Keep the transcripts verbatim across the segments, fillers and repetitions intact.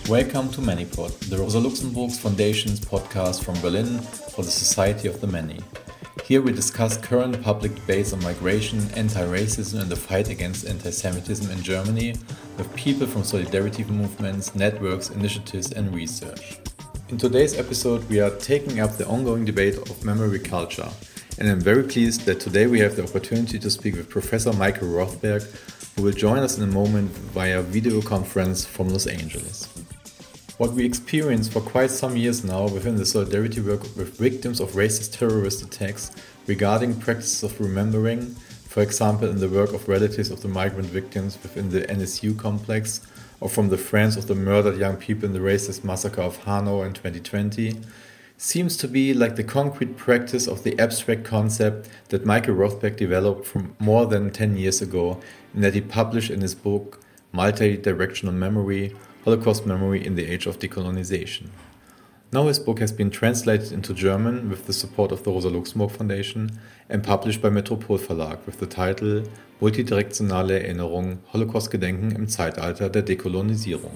Welcome to ManyPod, the Rosa Luxemburg Foundation's podcast from Berlin for the Society of the Many. Here we discuss current public debates on migration, anti-racism and the fight against anti-Semitism in Germany with people from solidarity movements, networks, initiatives and research. In today's episode we are taking up the ongoing debate of memory culture, and I'm very pleased that today we have the opportunity to speak with Professor Michael Rothberg, who will join us in a moment via video conference from Los Angeles. What we experience for quite some years now within the solidarity work with victims of racist terrorist attacks regarding practices of remembering, for example in the work of relatives of the migrant victims within the N S U complex, or from the friends of the murdered young people in the racist massacre of Hanau in twenty twenty, seems to be like the concrete practice of the abstract concept that Michael Rothberg developed from more than ten years ago and that he published in his book Multi-Directional Memory, Holocaust Memory in the Age of Decolonization. Now his book has been translated into German with the support of the Rosa Luxemburg Foundation and published by Metropol Verlag with the title Multidirektionale Erinnerung, Holocaust-Gedenken im Zeitalter der Dekolonisierung.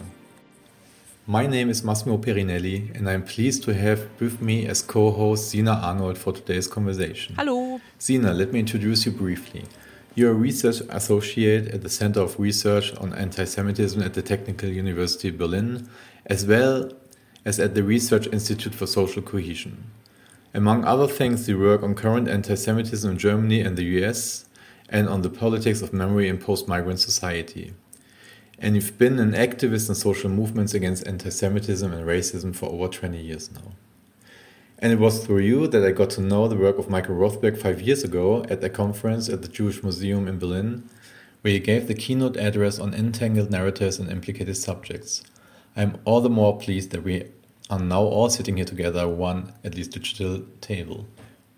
My name is Massimo Perinelli and I am pleased to have with me as co-host Sina Arnold for today's conversation. Hello. Sina, let me introduce you briefly. You are a research associate at the Center of Research on Anti-Semitism at the Technical University of Berlin, as well as at the Research Institute for Social Cohesion. Among other things, you work on current anti-Semitism in Germany and the U S and on the politics of memory in post-migrant society. And you've been an activist in social movements against anti-Semitism and racism for over twenty years now. And it was through you that I got to know the work of Michael Rothberg five years ago at a conference at the Jewish Museum in Berlin, where he gave the keynote address on entangled narratives and implicated subjects. I am all the more pleased that we are now all sitting here together at one, at least digital, table.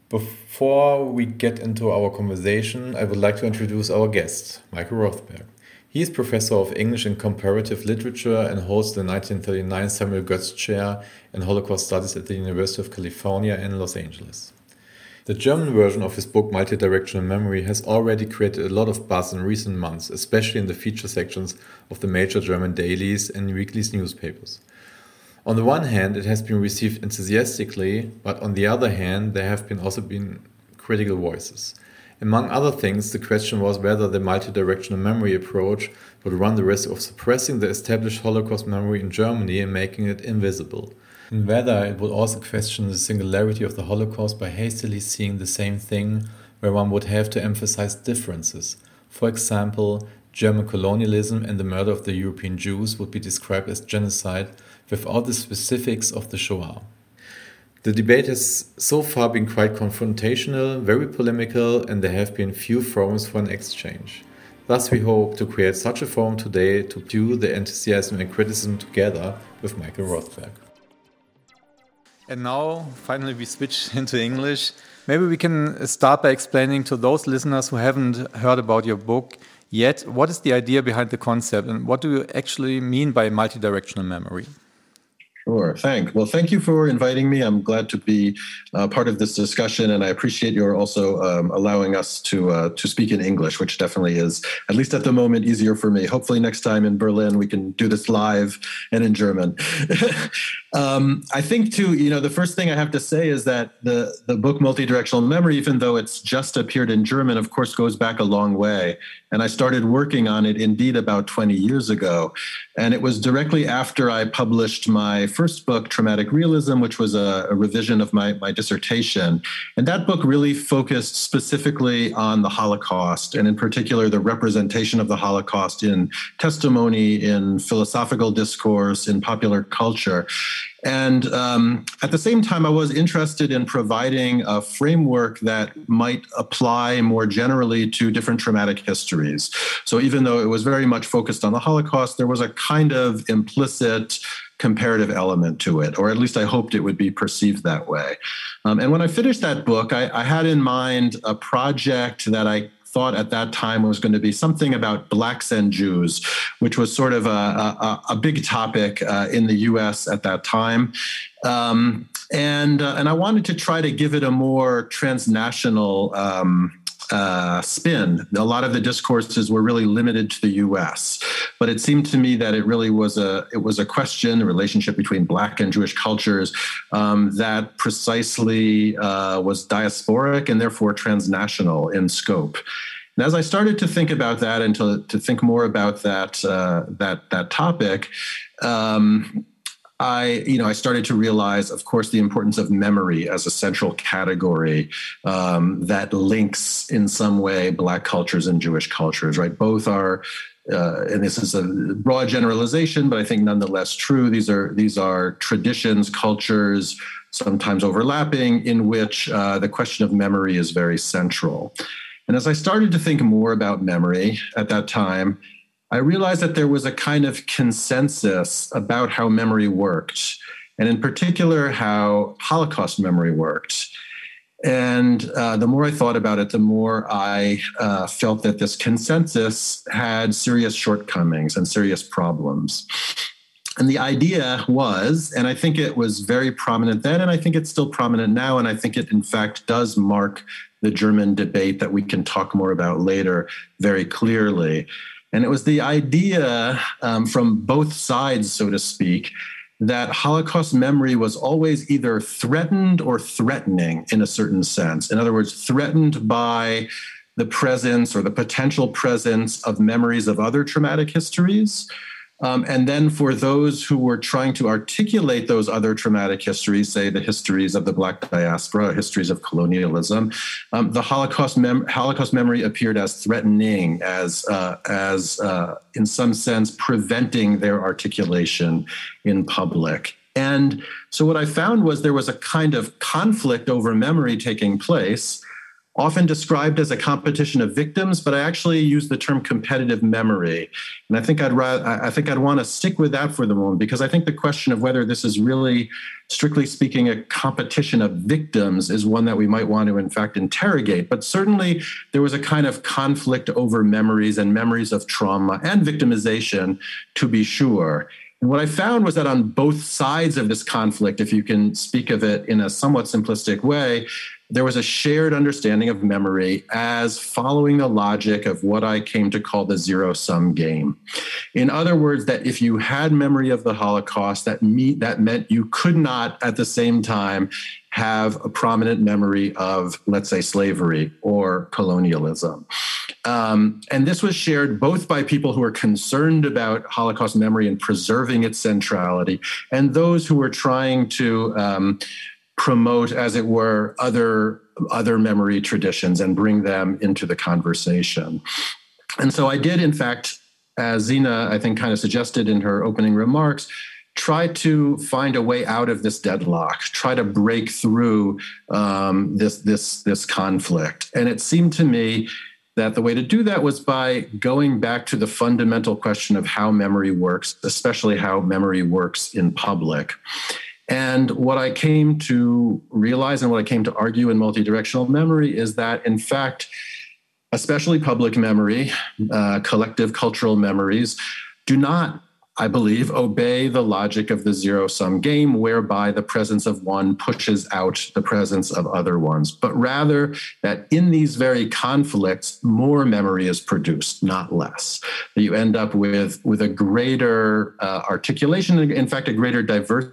Before we get into our conversation, I would like to introduce our guest, Michael Rothberg. He is Professor of English and Comparative Literature and holds the nineteen thirty-nine Samuel Goetz Chair in Holocaust Studies at the University of California in Los Angeles. The German version of his book Multidirectional Memory has already created a lot of buzz in recent months, especially in the feature sections of the major German dailies and weekly newspapers. On the one hand, it has been received enthusiastically, but on the other hand, there have been also been critical voices. Among other things, the question was whether the multidirectional memory approach would run the risk of suppressing the established Holocaust memory in Germany and making it invisible, and whether it would also question the singularity of the Holocaust by hastily seeing the same thing where one would have to emphasize differences. For example, German colonialism and the murder of the European Jews would be described as genocide without the specifics of the Shoah. The debate has so far been quite confrontational, very polemical, and there have been few forums for an exchange. Thus we hope to create such a forum today to do the enthusiasm and criticism together with Michael Rothberg. And now, finally, we switch into English. Maybe we can start by explaining to those listeners who haven't heard about your book yet, what is the idea behind the concept and what do you actually mean by multidirectional memory? Sure, thanks. Well, thank you for inviting me. I'm glad to be uh, part of this discussion, and I appreciate your also um, allowing us to uh, to speak in English, which definitely is, at least at the moment, easier for me. Hopefully next time in Berlin we can do this live and in German. um, I think, too, you know, the first thing I have to say is that the, the book Multidirectional Memory, even though it's just appeared in German, of course, goes back a long way. And I started working on it, indeed, about twenty years ago. And it was directly after I published my first book, Traumatic Realism, which was a, a revision of my, my dissertation. And that book really focused specifically on the Holocaust, and in particular, the representation of the Holocaust in testimony, in philosophical discourse, in popular culture. And um, at the same time, I was interested in providing a framework that might apply more generally to different traumatic histories. So even though it was very much focused on the Holocaust, there was a kind of implicit comparative element to it, or at least I hoped it would be perceived that way. Um, and when I finished that book, I, I had in mind a project that I thought at that time was going to be something about Blacks and Jews, which was sort of a, a, a big topic uh, in the U S at that time. Um, and, uh, and I wanted to try to give it a more transnational um, uh, spin. A lot of the discourses were really limited to the U S, but it seemed to me that it really was a it was a question, the relationship between Black and Jewish cultures, um, that precisely uh, was diasporic and therefore transnational in scope. And as I started to think about that and to, to think more about that uh, that that topic, um, I, you know, I started to realize, of course, the importance of memory as a central category um, that links in some way Black cultures and Jewish cultures, right? Both are, uh, and this is a broad generalization, but I think nonetheless true. These are these are traditions, cultures, sometimes overlapping, in which uh, the question of memory is very central. And as I started to think more about memory at that time, I realized that there was a kind of consensus about how memory worked, and in particular, how Holocaust memory worked. And uh, the more I thought about it, the more I uh, felt that this consensus had serious shortcomings and serious problems. And the idea was, and I think it was very prominent then, and I think it's still prominent now, and I think it in fact does mark the German debate that we can talk more about later very clearly. And it was the idea um, from both sides, so to speak, that Holocaust memory was always either threatened or threatening in a certain sense. In other words, threatened by the presence or the potential presence of memories of other traumatic histories. Um, and then for those who were trying to articulate those other traumatic histories, say the histories of the Black diaspora, histories of colonialism, um, the Holocaust, mem- Holocaust memory appeared as threatening, as, uh, as uh, in some sense, preventing their articulation in public. And so what I found was there was a kind of conflict over memory taking place, often described as a competition of victims, but I actually use the term competitive memory. And I think I'd rather, I think I'd want to stick with that for the moment, because I think the question of whether this is really, strictly speaking, a competition of victims is one that we might want to, in fact, interrogate. But certainly there was a kind of conflict over memories and memories of trauma and victimization, to be sure. And what I found was that on both sides of this conflict, if you can speak of it in a somewhat simplistic way, there was a shared understanding of memory as following the logic of what I came to call the zero-sum game. In other words, that if you had memory of the Holocaust, that, me- that meant you could not at the same time have a prominent memory of, let's say, slavery or colonialism. Um, and this was shared both by people who were concerned about Holocaust memory and preserving its centrality, and those who were trying to um, promote, as it were, other, other memory traditions and bring them into the conversation. And so I did, in fact, as Zina, I think, kind of suggested in her opening remarks, try to find a way out of this deadlock, try to break through um, this, this, this conflict. And it seemed to me that the way to do that was by going back to the fundamental question of how memory works, especially how memory works in public. And what I came to realize and what I came to argue in multidirectional memory is that, in fact, especially public memory, uh, collective cultural memories, do not, I believe, obey the logic of the zero-sum game, whereby the presence of one pushes out the presence of other ones, but rather that in these very conflicts, more memory is produced, not less. That you end up with, with a greater uh, articulation, in fact, a greater diversity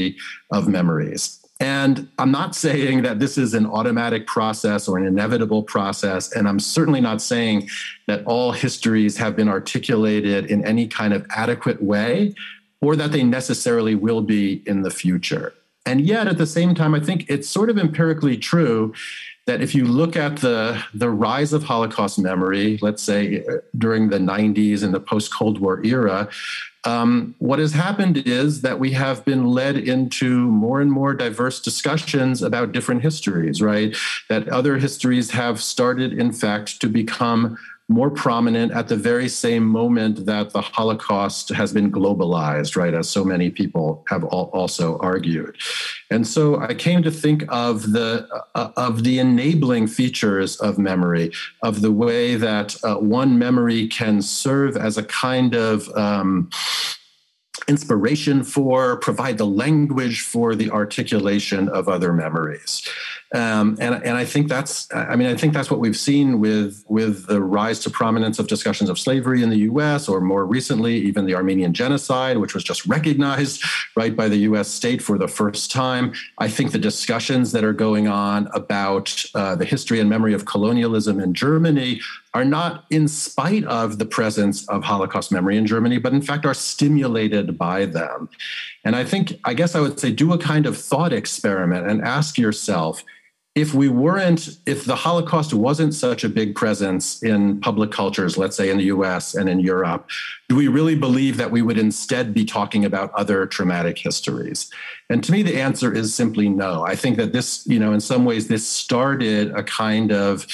of memories. And I'm not saying that this is an automatic process or an inevitable process, and I'm certainly not saying that all histories have been articulated in any kind of adequate way, or that they necessarily will be in the future. And yet, at the same time, I think it's sort of empirically true that if you look at the, the rise of Holocaust memory, let's say during the nineties and the post-Cold War era, Um, what has happened is that we have been led into more and more diverse discussions about different histories, right? That other histories have started, in fact, to become more prominent at the very same moment that the Holocaust has been globalized, right, as so many people have also argued. And so I came to think of the uh, of the enabling features of memory, of the way that uh, one memory can serve as a kind of um, inspiration for, provide the language for the articulation of other memories. Um, and, and I think that's, I mean, I think that's what we've seen with, with the rise to prominence of discussions of slavery in the U S, or more recently, even the Armenian genocide, which was just recognized, right, by the U S state for the first time. I think the discussions that are going on about uh, the history and memory of colonialism in Germany are not in spite of the presence of Holocaust memory in Germany, but in fact are stimulated by them. And I think, I guess I would say, do a kind of thought experiment and ask yourself, if we weren't, if the Holocaust wasn't such a big presence in public cultures, let's say in the U S and in Europe, do we really believe that we would instead be talking about other traumatic histories? And to me, the answer is simply no. I think that this, you know, in some ways, this started a kind of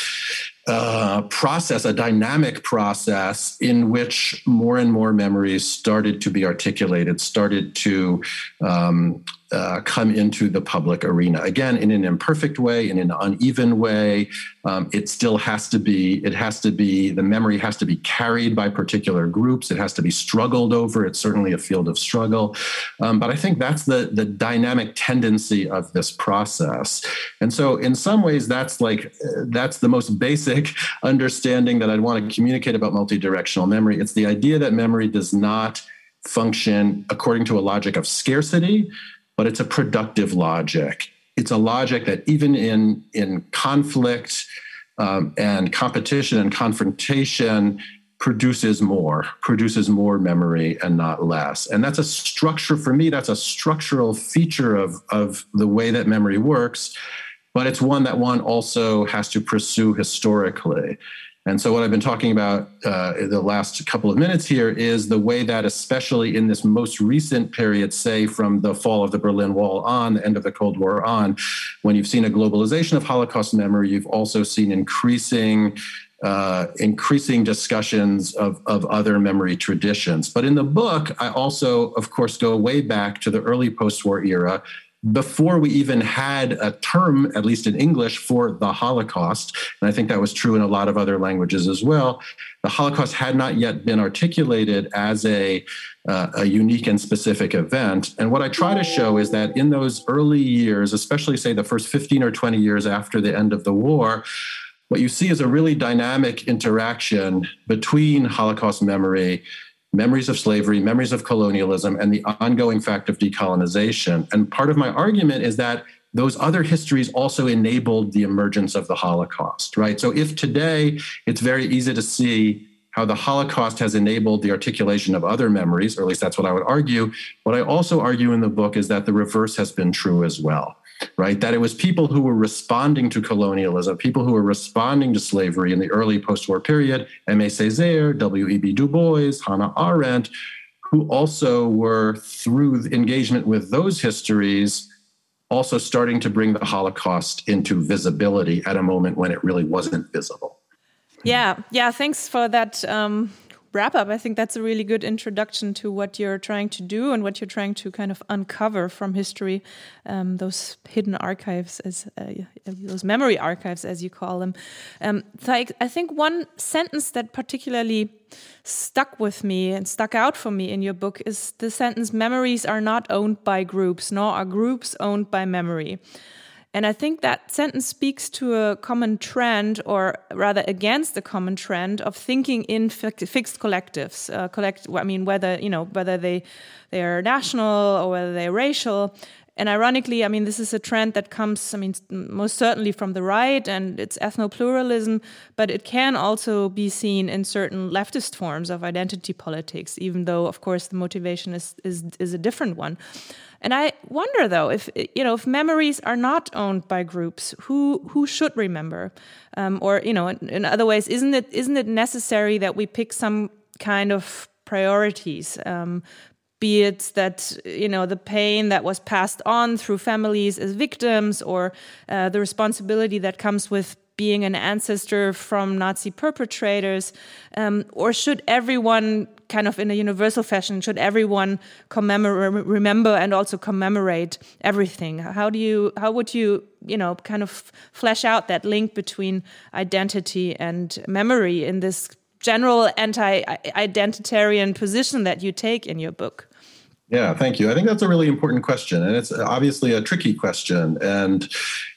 uh, process, a dynamic process in which more and more memories started to be articulated, started to um, uh, come into the public arena. Again, in an imperfect way, in an uneven way. Um, it still has to be, it has to be, the memory has to be carried by particular groups. It has to be struggled over. It's certainly a field of struggle. Um, but I think that's the, the dynamic tendency of this process. And so in some ways, that's like, that's the most basic understanding that I'd want to communicate about multidirectional memory. It's the idea that memory does not function according to a logic of scarcity, but it's a productive logic. It's a logic that even in, in conflict um, and competition and confrontation produces more, produces more memory and not less. And that's a structure, for me, that's a structural feature of, of the way that memory works, but it's one that one also has to pursue historically. And so what I've been talking about uh, in the last couple of minutes here is the way that, especially in this most recent period, say from the fall of the Berlin Wall on, the end of the Cold War on, when you've seen a globalization of Holocaust memory, you've also seen increasing uh, increasing discussions of, of other memory traditions. But in the book, I also, of course, go way back to the early post-war era, before we even had a term, at least in English, for the Holocaust. And I think that was true in a lot of other languages as well. The Holocaust had not yet been articulated as a, uh, a unique and specific event. And what I try to show is that in those early years, especially say the first fifteen or twenty years after the end of the war, what you see is a really dynamic interaction between Holocaust memory, memories of slavery, memories of colonialism, and the ongoing fact of decolonization. And part of my argument is that those other histories also enabled the emergence of the Holocaust, right? So if today it's very easy to see how the Holocaust has enabled the articulation of other memories, or at least that's what I would argue, what I also argue in the book is that the reverse has been true as well. Right, that it was people who were responding to colonialism, people who were responding to slavery in the early post-war period, Aimé Césaire, W E B Du Bois, Hannah Arendt, who also were, through engagement with those histories, also starting to bring the Holocaust into visibility at a moment when it really wasn't visible. Yeah, yeah, thanks for that um wrap up. I think that's a really good introduction to what you're trying to do and what you're trying to kind of uncover from history, um, those hidden archives, as uh, those memory archives, as you call them. Um, so I, I think one sentence that particularly stuck with me and stuck out for me in your book is the sentence, "Memories are not owned by groups, nor are groups owned by memory." And I think that sentence speaks to a common trend, or rather against the common trend of thinking in fi- fixed collectives. Uh, collect, I mean, whether you know whether they they are national or whether they're racial. And ironically, I mean, this is a trend that comes, I mean, most certainly from the right, and it's ethno-pluralism, but it can also be seen in certain leftist forms of identity politics, even though, of course, the motivation is is, is a different one. And I wonder, though, if you know, if memories are not owned by groups, who who should remember, um, or you know, in, in other ways, isn't it isn't it necessary that we pick some kind of priorities? Um, Be it that, you know, the pain that was passed on through families as victims, or uh, the responsibility that comes with being an ancestor from Nazi perpetrators, um, or should everyone kind of in a universal fashion, should everyone commemorate, remember and also commemorate everything? How do you, how would you, you know, kind of flesh out that link between identity and memory in this general anti-identitarian position that you take in your book? Yeah, thank you. I think that's a really important question. And it's obviously a tricky question. And,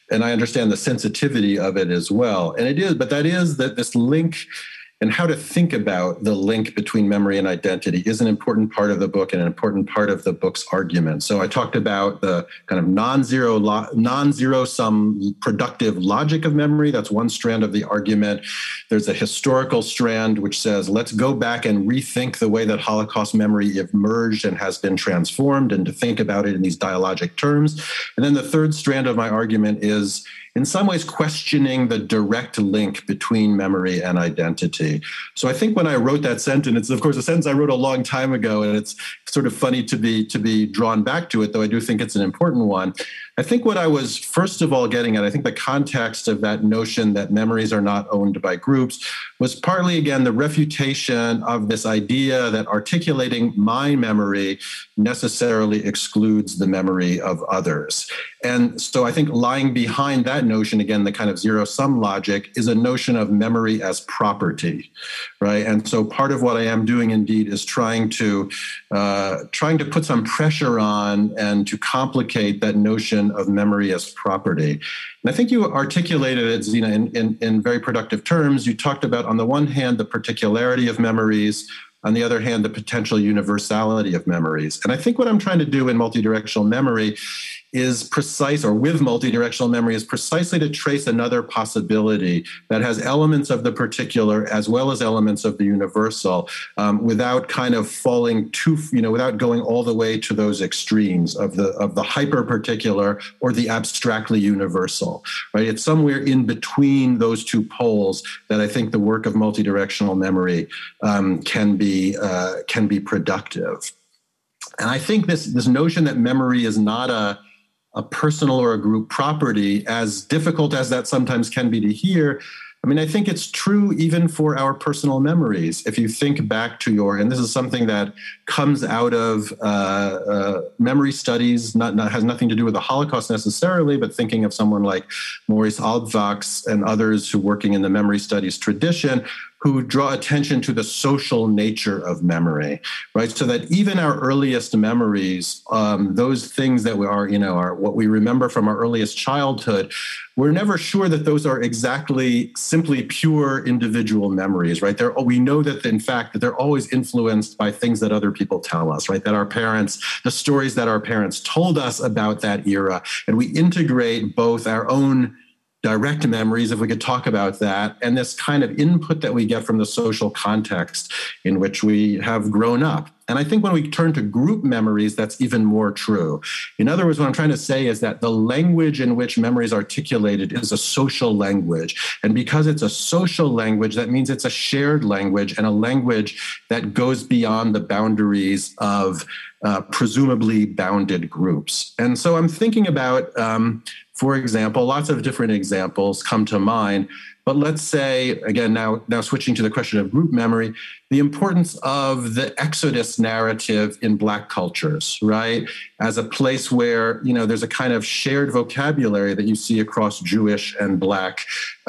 and I understand the sensitivity of it as well. And it is, but that is that this link and how to think about the link between memory and identity is an important part of the book and an important part of the book's argument. So I talked about the kind of non-zero, lo- non-zero sum productive logic of memory. That's one strand of the argument. There's a historical strand which says, let's go back and rethink the way that Holocaust memory emerged and has been transformed, and to think about it in these dialogic terms. And then the third strand of my argument is, in some ways, questioning the direct link between memory and identity. So I think when I wrote that sentence, it's of course a sentence I wrote a long time ago, and it's sort of funny to be to be drawn back to it, though I do think it's an important one. I think what I was first of all getting at, I think the context of that notion that memories are not owned by groups was partly, again, the refutation of this idea that articulating my memory necessarily excludes the memory of others. And so I think lying behind that notion, again, the kind of zero-sum logic, is a notion of memory as property, right? And so part of what I am doing, indeed, is trying to uh, trying to put some pressure on and to complicate that notion of memory as property. And I think you articulated it, Zina, in, in, in very productive terms. You talked about, on the one hand, the particularity of memories, on the other hand, the potential universality of memories. And I think what I'm trying to do in multidirectional memory is precise, or with multidirectional memory, is precisely to trace another possibility that has elements of the particular as well as elements of the universal, um, without kind of falling too, you know, without going all the way to those extremes of the of the hyper particular or the abstractly universal, right? It's somewhere in between those two poles that I think the work of multidirectional memory um, can be uh, can be productive. And I think this this notion that memory is not a a personal or a group property, as difficult as that sometimes can be to hear, I mean, I think it's true even for our personal memories. If you think back to your, and this is something that comes out of uh, uh, memory studies, not, not has nothing to do with the Holocaust necessarily, but thinking of someone like Maurice Halbwachs and others who working in the memory studies tradition, who draw attention to the social nature of memory, right? So that even our earliest memories, um, those things that we are, you know, are what we remember from our earliest childhood, we're never sure that those are exactly simply pure individual memories, right? They're, we know that, in fact, that they're always influenced by things that other people tell us, right? That our parents, the stories that our parents told us about that era, and we integrate both our own direct memories, if we could talk about that, and this kind of input that we get from the social context in which we have grown up. And I think when we turn to group memories, that's even more true. In other words, what I'm trying to say is that the language in which memory is articulated is a social language. And because it's a social language, that means it's a shared language, and a language that goes beyond the boundaries of uh, presumably bounded groups. And so I'm thinking about, um, for example, lots of different examples come to mind. But let's say, again, now, now switching to the question of group memory, the importance of the Exodus narrative in Black cultures, right? As a place where, you know, there's a kind of shared vocabulary that you see across Jewish and Black uh,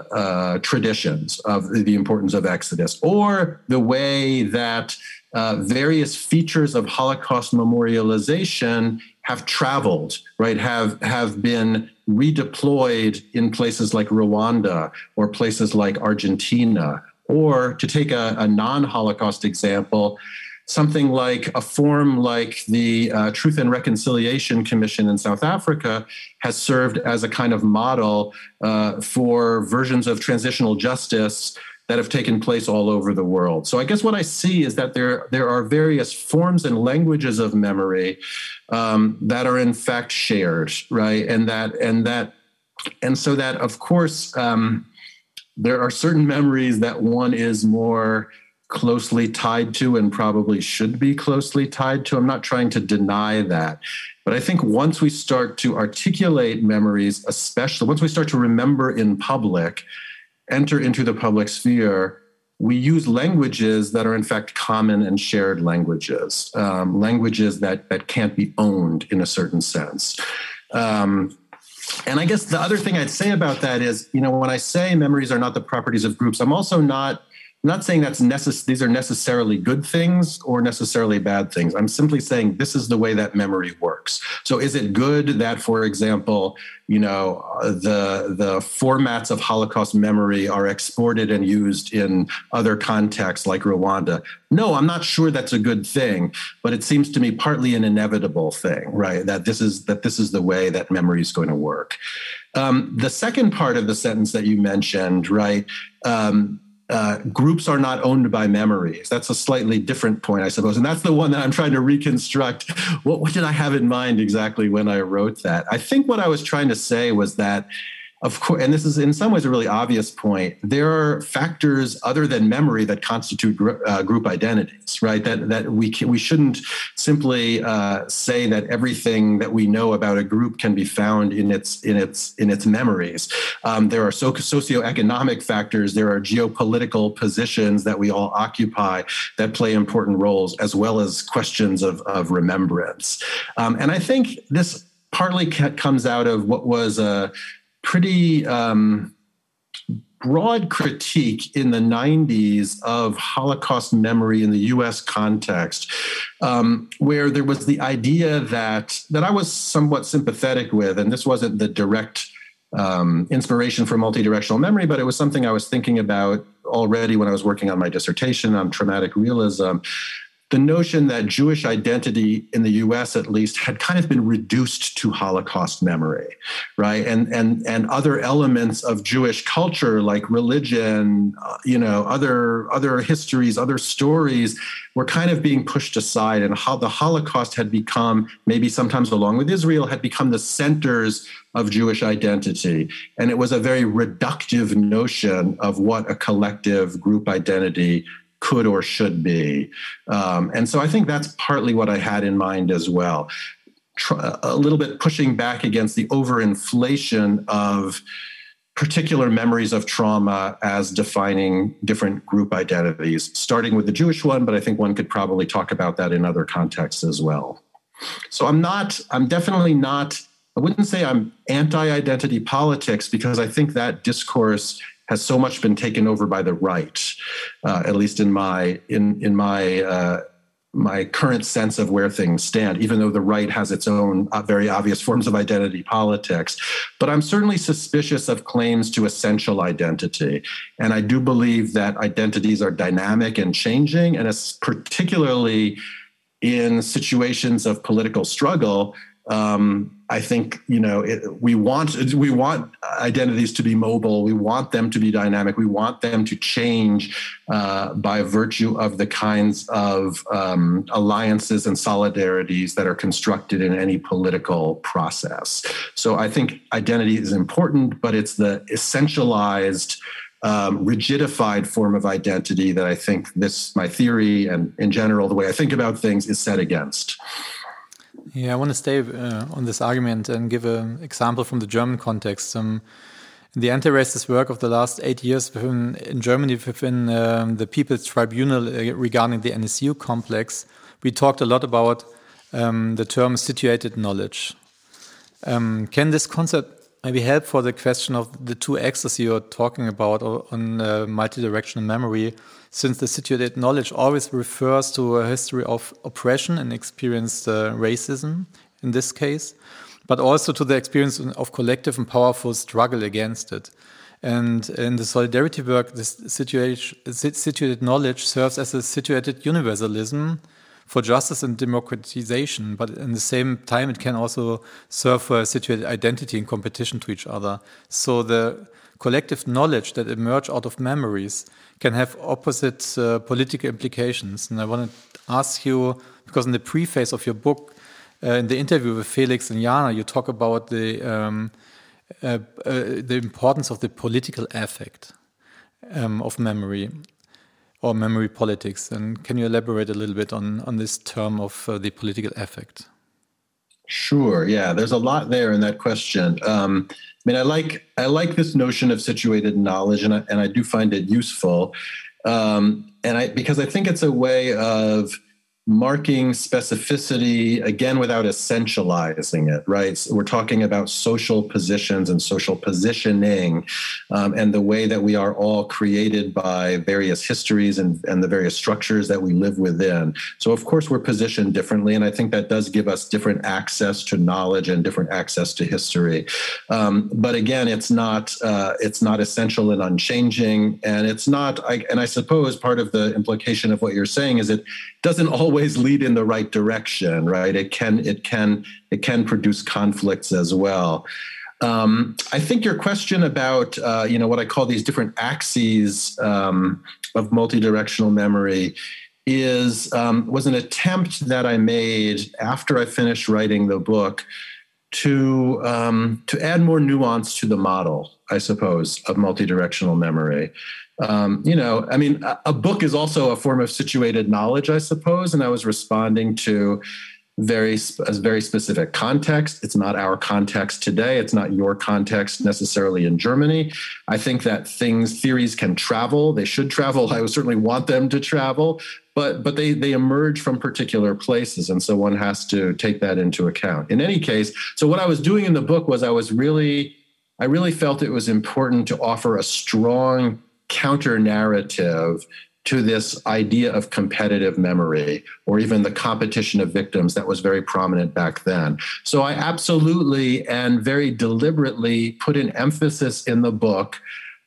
uh, traditions of the importance of Exodus, or the way that uh, various features of Holocaust memorialization have traveled, right, have, have been redeployed in places like Rwanda or places like Argentina. Or to take a, a non-Holocaust example, something like a forum like the uh, Truth and Reconciliation Commission in South Africa has served as a kind of model uh, for versions of transitional justice that have taken place all over the world. So I guess what I see is that there, there are various forms and languages of memory um, that are in fact shared, right? And that, and that, and so that, of course, um, there are certain memories that one is more closely tied to and probably should be closely tied to. I'm not trying to deny that. But I think once we start to articulate memories, especially once we start to remember in public, enter into the public sphere, we use languages that are in fact common and shared languages, um, languages that, that can't be owned in a certain sense. Um, and I guess the other thing I'd say about that is, you know, when I say memories are not the properties of groups, I'm also not I'm not saying that's necess- these are necessarily good things or necessarily bad things. I'm simply saying this is the way that memory works. So is it good that, for example, you know, the, the formats of Holocaust memory are exported and used in other contexts like Rwanda? No, I'm not sure that's a good thing, but it seems to me partly an inevitable thing, right? That this is that this is the way that memory is going to work. Um, the second part of the sentence that you mentioned, right? Um, Uh, groups are not owned by memories. That's a slightly different point, I suppose. And that's the one that I'm trying to reconstruct. What, what did I have in mind exactly when I wrote that? I think what I was trying to say was that, of course, and this is in some ways a really obvious point, there are factors other than memory that constitute gr- uh, group identities, right? That that we can, we shouldn't simply uh, say that everything that we know about a group can be found in its in its in its memories. Um, there are so, socioeconomic factors, there are geopolitical positions that we all occupy that play important roles, as well as questions of of remembrance. Um, and I think this partly comes out of what was a pretty um, broad critique in the nineties of Holocaust memory in the U S context, um, where there was the idea that that I was somewhat sympathetic with, and this wasn't the direct um, inspiration for multidirectional memory, but it was something I was thinking about already when I was working on my dissertation on traumatic realism. The notion that Jewish identity in the U S, at least, had kind of been reduced to Holocaust memory, right? And and and other elements of Jewish culture, like religion, uh, you know, other other histories, other stories, were kind of being pushed aside, and how the Holocaust had become, maybe sometimes along with Israel, had become the centers of Jewish identity. And it was a very reductive notion of what a collective group identity could or should be. Um, and so I think that's partly what I had in mind as well. Tr- a little bit pushing back against the overinflation of particular memories of trauma as defining different group identities, starting with the Jewish one, but I think one could probably talk about that in other contexts as well. So I'm not, I'm definitely not, I wouldn't say I'm anti-identity politics, because I think that discourse has so much been taken over by the right, uh, at least in my in in my uh, my current sense of where things stand. Even though the right has its own uh, very obvious forms of identity politics, but I'm certainly suspicious of claims to essential identity, and I do believe that identities are dynamic and changing, and it's particularly in situations of political struggle. Um, I think, you know, it, we want we want identities to be mobile. We want them to be dynamic. We want them to change uh, by virtue of the kinds of um, alliances and solidarities that are constructed in any political process. So I think identity is important, but it's the essentialized, Um, rigidified form of identity that I think this, my theory and in general, the way I think about things, is set against. Yeah, I want to stay uh, on this argument and give an example from the German context. Um, in the anti-racist work of the last eight years within, in Germany within um, the People's Tribunal uh, regarding the N S U complex, we talked a lot about um, the term situated knowledge. Um, can this concept maybe help for the question of the two axes you're talking about on uh, multidirectional memory, since the situated knowledge always refers to a history of oppression and experienced uh, racism in this case, but also to the experience of collective and powerful struggle against it. And in the solidarity work, this situated knowledge serves as a situated universalism for justice and democratization, but at the same time, it can also serve for a situated identity in competition to each other. So the collective knowledge that emerge out of memories can have opposite uh, political implications. And I want to ask you, because in the preface of your book, uh, in the interview with Felix and Jana, you talk about the um, uh, uh, the importance of the political affect um, of memory, or memory politics. And can you elaborate a little bit on, on this term of uh, the political affect? Sure. Yeah, there's a lot there in that question. Um, I mean, I like I like this notion of situated knowledge, and I, and I do find it useful, um, and I because I think it's a way of marking specificity, again, without essentializing it, right? So we're talking about social positions and social positioning, um, and the way that we are all created by various histories and, and the various structures that we live within. So, of course, we're positioned differently, and I think that does give us different access to knowledge and different access to history. Um, but again, it's not uh, it's not essential and unchanging, and it's not. I, and I suppose part of the implication of what you're saying is it doesn't always lead in the right direction, right? It can, it can, it can produce conflicts as well. Um, I think your question about, uh, you know, what I call these different axes um, of multidirectional memory is um, was an attempt that I made after I finished writing the book to um, to add more nuance to the model, I suppose, of multidirectional memory. Um, you know, I mean, a, a book is also a form of situated knowledge, I suppose, and I was responding to very a very specific context. It's not our context today. It's not your context necessarily in Germany. I think that things, theories can travel. They should travel. I would certainly want them to travel, but but they they emerge from particular places, and so one has to take that into account. In any case, so what I was doing in the book was I was really, I really felt it was important to offer a strong counter narrative to this idea of competitive memory, or even the competition of victims that was very prominent back then. So I absolutely and very deliberately put an emphasis in the book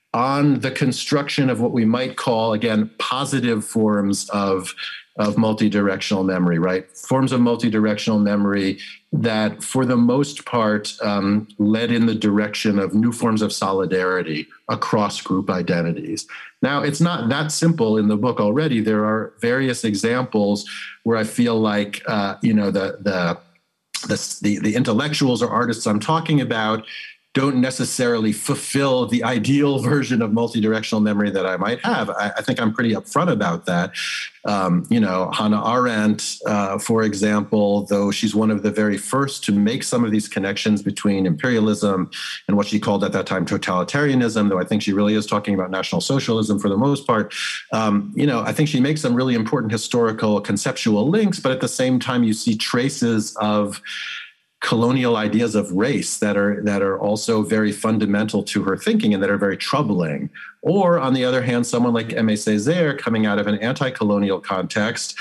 on the construction of what we might call, again, positive forms of, of multidirectional memory, right? Forms of multidirectional memory that, for the most part, um, led in the direction of new forms of solidarity across group identities. Now, it's not that simple in the book already. There are various examples where I feel like, uh, you know, the, the, the, the, the intellectuals or artists I'm talking about don't necessarily fulfill the ideal version of multidirectional memory that I might have. I, I think I'm pretty upfront about that. Um, you know, Hannah Arendt, uh, for example, though she's one of the very first to make some of these connections between imperialism and what she called at that time totalitarianism, though I think she really is talking about National Socialism for the most part. Um, you know, I think she makes some really important historical conceptual links, but at the same time, you see traces of colonial ideas of race that are that are also very fundamental to her thinking and that are very troubling. Or on the other hand, someone like Aimé Césaire, coming out of an anti-colonial context,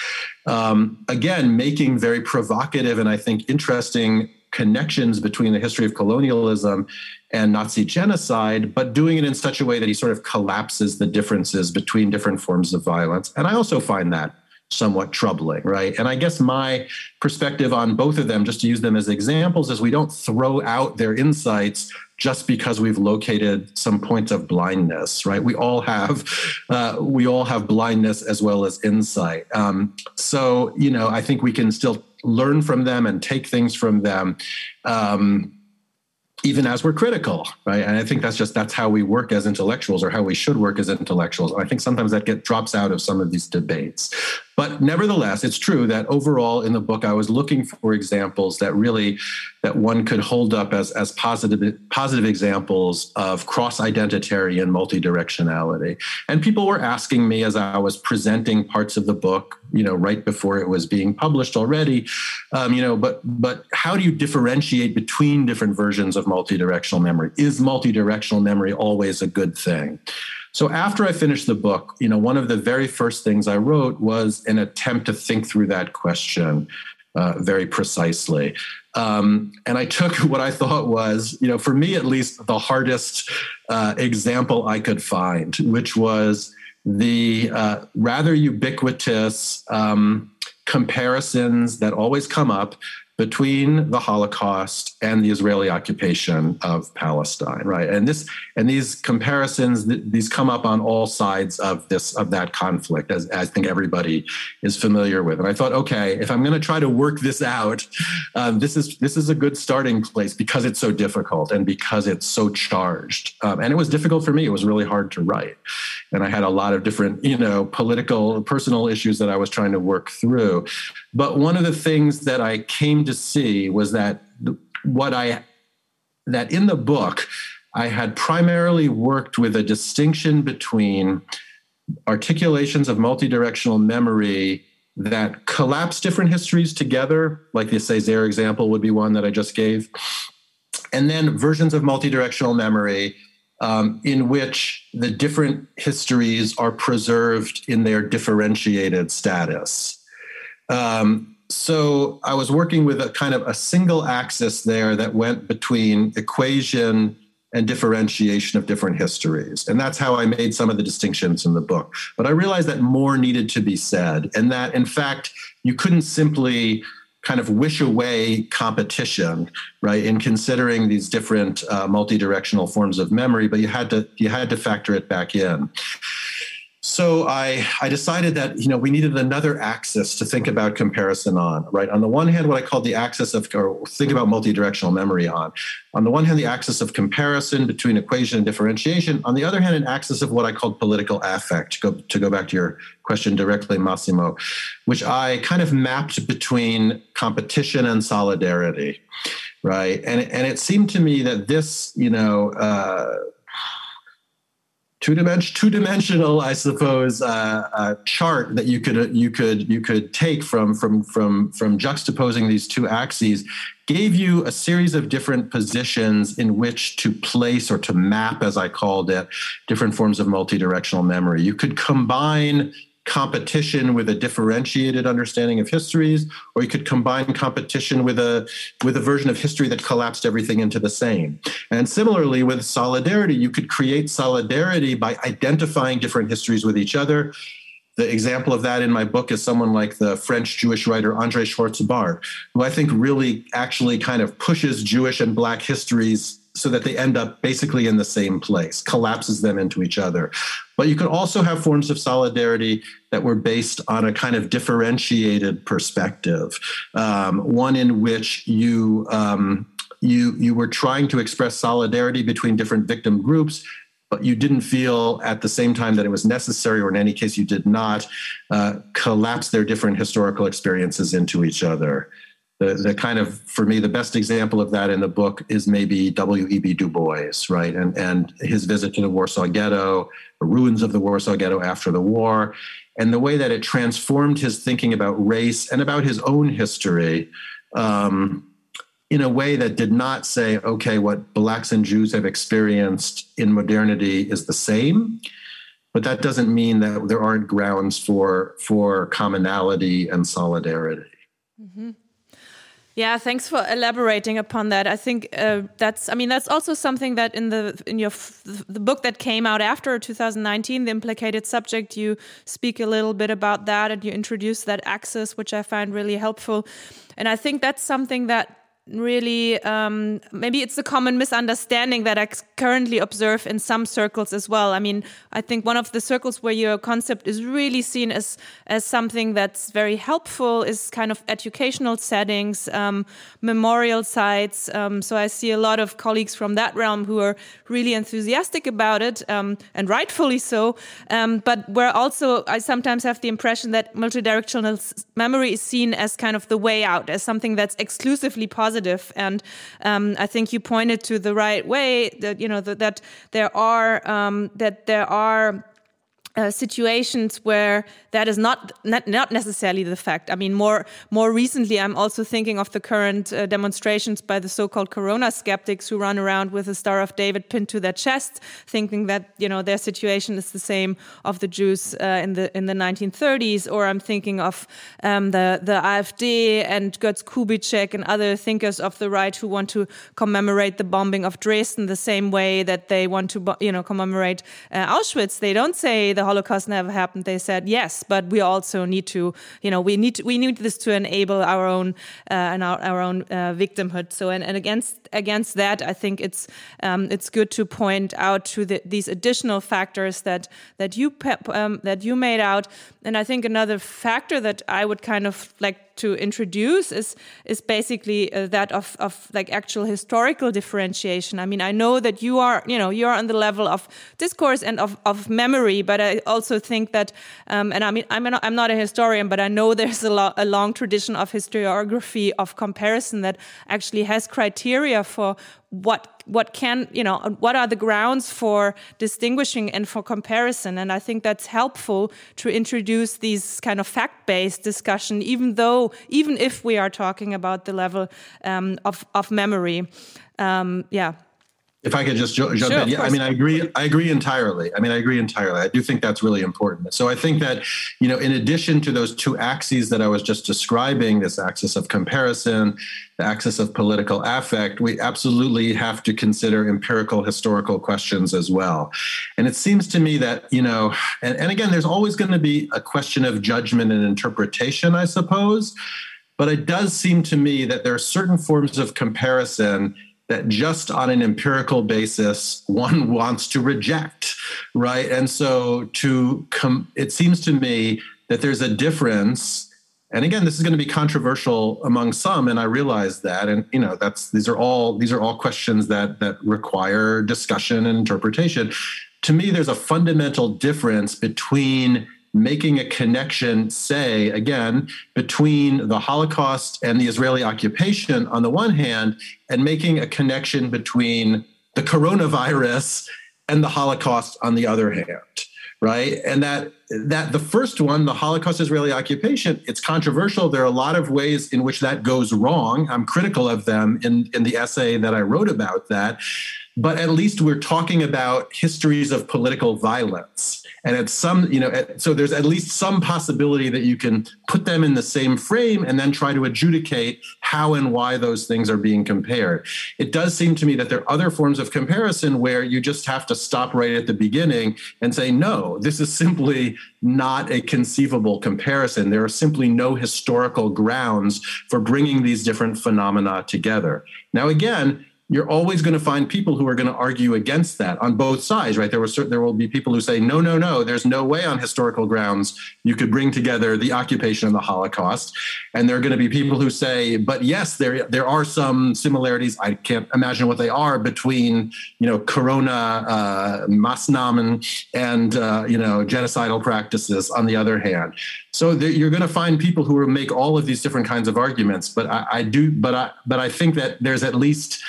um, again, making very provocative and I think interesting connections between the history of colonialism and Nazi genocide, but doing it in such a way that he sort of collapses the differences between different forms of violence. And I also find that somewhat troubling, right? And I guess my perspective on both of them, just to use them as examples, is we don't throw out their insights just because we've located some points of blindness, right? We all have, uh, we all have blindness as well as insight. Um, so, you know, I think we can still learn from them and take things from them, um, even as we're critical, right? And I think that's just, that's how we work as intellectuals, or how we should work as intellectuals. I think sometimes that get drops out of some of these debates. But nevertheless, it's true that overall in the book, I was looking for examples that really, that one could hold up as, as positive, positive examples of cross-identitary and multidirectionality. And people were asking me as I was presenting parts of the book, you know, right before it was being published already, um, you know, but, but how do you differentiate between different versions of multidirectional memory? Is multidirectional memory always a good thing? So after I finished the book, you know, one of the very first things I wrote was an attempt to think through that question uh, very precisely. Um, and I took what I thought was, you know, for me at least, the hardest uh, example I could find, which was the uh, rather ubiquitous um, comparisons that always come up between the Holocaust and the Israeli occupation of Palestine, right? And this and these comparisons, th- these come up on all sides of this of that conflict, as, as I think everybody is familiar with. And I thought, okay, if I'm going to try to work this out, um, this is this is a good starting place because it's so difficult and because it's so charged. Um, and it was difficult for me; it was really hard to write, and I had a lot of different, you know, political, personal issues that I was trying to work through. But one of the things that I came to see was that what I that in the book I had primarily worked with a distinction between articulations of multidirectional memory that collapse different histories together, like the Césaire example would be one that I just gave, and then versions of multidirectional memory um, in which the different histories are preserved in their differentiated status. Um, so I was working with a kind of a single axis there that went between equation and differentiation of different histories. And that's how I made some of the distinctions in the book. But I realized that more needed to be said, and that, in fact, you couldn't simply kind of wish away competition, right, in considering these different uh, multi-directional forms of memory, but you had to you had to factor it back in. So I, I decided that, you know, we needed another axis to think about comparison on, right? On the one hand, what I called the axis of, or think about multidirectional memory on. On the one hand, the axis of comparison between equation and differentiation. On the other hand, an axis of what I called political affect, to go, to go back to your question directly, Massimo, which I kind of mapped between competition and solidarity, right? And, and it seemed to me that this, you know, uh, Two-dimension, two-dimensional, I suppose, uh, uh, chart that you could you could you could take from from from from juxtaposing these two axes gave you a series of different positions in which to place or to map, as I called it, different forms of multidirectional memory. You could combine competition with a differentiated understanding of histories, or you could combine competition with a with a version of history that collapsed everything into the same. And similarly, with solidarity, you could create solidarity by identifying different histories with each other. The example of that in my book is someone like the French Jewish writer André Schwartz-Bart, who I think really actually kind of pushes Jewish and Black histories so that they end up basically in the same place, collapses them into each other. But you could also have forms of solidarity that were based on a kind of differentiated perspective, um, one in which you, um, you, you were trying to express solidarity between different victim groups, but you didn't feel at the same time that it was necessary, or in any case you did not, uh, collapse their different historical experiences into each other. The, the kind of, for me, the best example of that in the book is maybe W E B Du Bois, right? And, and his visit to the Warsaw Ghetto, the ruins of the Warsaw Ghetto after the war, and the way that it transformed his thinking about race and about his own history um, in a way that did not say, okay, what Blacks and Jews have experienced in modernity is the same, but that doesn't mean that there aren't grounds for, for commonality and solidarity. Mm-hmm. Yeah, thanks for elaborating upon that. I think uh, that's, I mean, that's also something that in the in your the book that came out after two thousand nineteen, The Implicated Subject, you speak a little bit about that and you introduce that axis, which I find really helpful. And I think that's something that really, um, maybe it's a common misunderstanding that I currently observe in some circles as well. I mean, I think one of the circles where your concept is really seen as as something that's very helpful is kind of educational settings, um, memorial sites. Um, so I see a lot of colleagues from that realm who are really enthusiastic about it, um, and rightfully so. Um, but where also I sometimes have the impression that multidirectional memory is seen as kind of the way out, as something that's exclusively positive. And um, I think you pointed to the right way that, you know, that, that there are um, that there are Uh, situations where that is not, not not necessarily the fact. I mean, more more recently, I'm also thinking of the current uh, demonstrations by the so-called Corona skeptics who run around with the Star of David pinned to their chest, thinking that, you know, their situation is the same of the Jews uh, in the in the nineteen thirties. Or I'm thinking of um, the the AfD and Götz Kubitschek and other thinkers of the right who want to commemorate the bombing of Dresden the same way that they want to, you know, commemorate uh, Auschwitz. They don't say the Holocaust never happened. They said yes, but we also need to, you know, we need to, we need this to enable our own uh, and our, our own uh, victimhood. So, and, and against against that, I think it's um, it's good to point out to the, these additional factors that that you um, that you made out. And I think another factor that I would kind of like to introduce is is basically uh, that of of like actual historical differentiation. I mean, I know that you are, you know, you're on the level of discourse and of, of memory, but I also think that, um, and I mean, I'm not, I'm not a historian, but I know there's a, lo- a long tradition of historiography of comparison that actually has criteria for what what can you know what are the grounds for distinguishing and for comparison. And I think that's helpful to introduce these kind of fact-based discussion, even though even if we are talking about the level um, of of memory. Um, yeah. If I could just jump sure, in. Yeah, I mean, I agree. I agree entirely. I mean, I agree entirely. I do think that's really important. So I think that, you know, in addition to those two axes that I was just describing, this axis of comparison, the axis of political affect, we absolutely have to consider empirical historical questions as well. And it seems to me that, you know, and, and again, there's always going to be a question of judgment and interpretation, I suppose. But it does seem to me that there are certain forms of comparison that just on an empirical basis, one wants to reject, right? And so to com- it seems to me that there's a difference. And again, this is going to be controversial among some, and I realize that. And you know, that's these are all these are all questions that that require discussion and interpretation. To me, there's a fundamental difference between making a connection, say, again, between the Holocaust and the Israeli occupation on the one hand, and making a connection between the coronavirus and the Holocaust on the other hand, right? And that that the first one, the Holocaust Israeli occupation, it's controversial. There are a lot of ways in which that goes wrong. I'm critical of them in, in the essay that I wrote about that. But at least we're talking about histories of political violence. And it's some, you know, so there's at least some possibility that you can put them in the same frame and then try to adjudicate how and why those things are being compared. It does seem to me that there are other forms of comparison where you just have to stop right at the beginning and say, no, this is simply not a conceivable comparison. There are simply no historical grounds for bringing these different phenomena together. Now, again, you're always going to find people who are going to argue against that on both sides, right? There were certain, there will be people who say, no, no, no, there's no way on historical grounds you could bring together the occupation and the Holocaust. And there are going to be people who say, but yes, there there are some similarities. I can't imagine what they are between, you know, Corona, uh, Maßnahmen, and, uh, you know, genocidal practices on the other hand. So there, you're going to find people who will make all of these different kinds of arguments. But I, I do, but I, but I think that there's at least,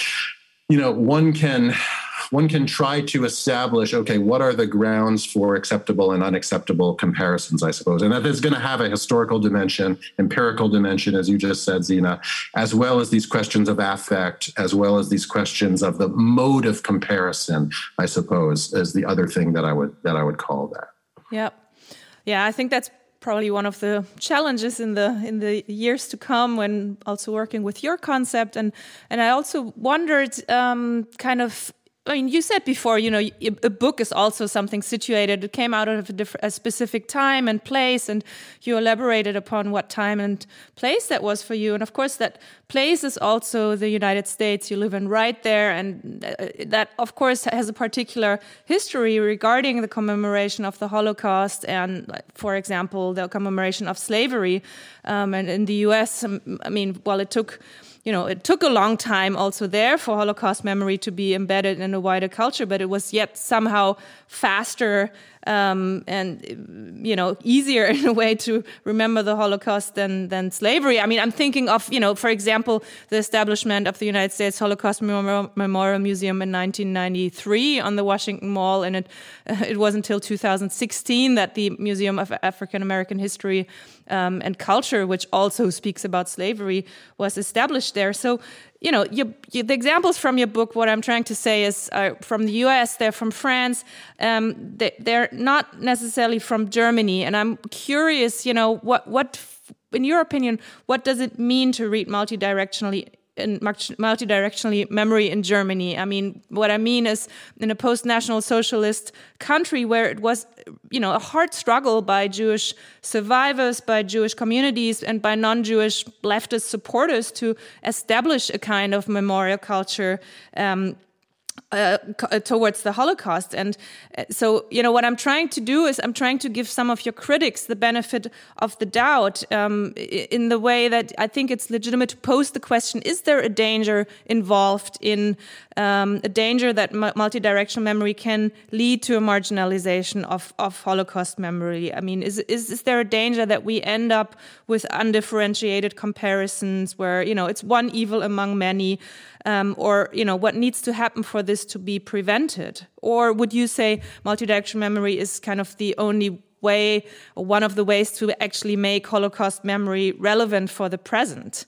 you know, one can one can try to establish, okay, what are the grounds for acceptable and unacceptable comparisons, I suppose, and that is going to have a historical dimension, empirical dimension, as you just said, Zina, as well as these questions of affect, as well as these questions of the mode of comparison, I suppose, is the other thing that I would that I would call that. Yeah, yeah, I think that's probably one of the challenges in the in the years to come when also working with your concept. And and I also wondered um, kind of, I mean, you said before, you know, a book is also something situated. It came out of a, different, a specific time and place, and you elaborated upon what time and place that was for you. And of course, that place is also the United States. You live in right there, and that, of course, has a particular history regarding the commemoration of the Holocaust and, for example, the commemoration of slavery. Um, and in the U S, I mean, well, it took... You know, it took a long time also there for Holocaust memory to be embedded in a wider culture, but it was yet somehow faster um, and, you know, easier in a way to remember the Holocaust than than slavery. I mean, I'm thinking of, you know, for example, the establishment of the United States Holocaust Memorial, Memorial Museum in nineteen ninety-three on the Washington Mall, and it uh, it wasn't until two thousand sixteen that the Museum of African American History Um, and Culture, which also speaks about slavery, was established there. So, you know, you, you, the examples from your book, what I'm trying to say is uh, from the U S, they're from France, um, they, they're not necessarily from Germany. And I'm curious, you know, what, what, in your opinion, what does it mean to read multidirectionally in multidirectionally memory in Germany? I mean, what I mean is in a post-national socialist country where it was, you know, a hard struggle by Jewish survivors, by Jewish communities, and by non-Jewish leftist supporters to establish a kind of memorial culture. Um, Uh, towards the Holocaust. And uh, so, you know, what I'm trying to do is I'm trying to give some of your critics the benefit of the doubt um, in the way that I think it's legitimate to pose the question, is there a danger involved in um, a danger that m- multidirectional memory can lead to a marginalization of, of Holocaust memory? I mean, is, is, is there a danger that we end up with undifferentiated comparisons where, you know, it's one evil among many? Um, or, you know, what needs to happen for this to be prevented? Or would you say multidirectional memory is kind of the only way, or one of the ways to actually make Holocaust memory relevant for the present?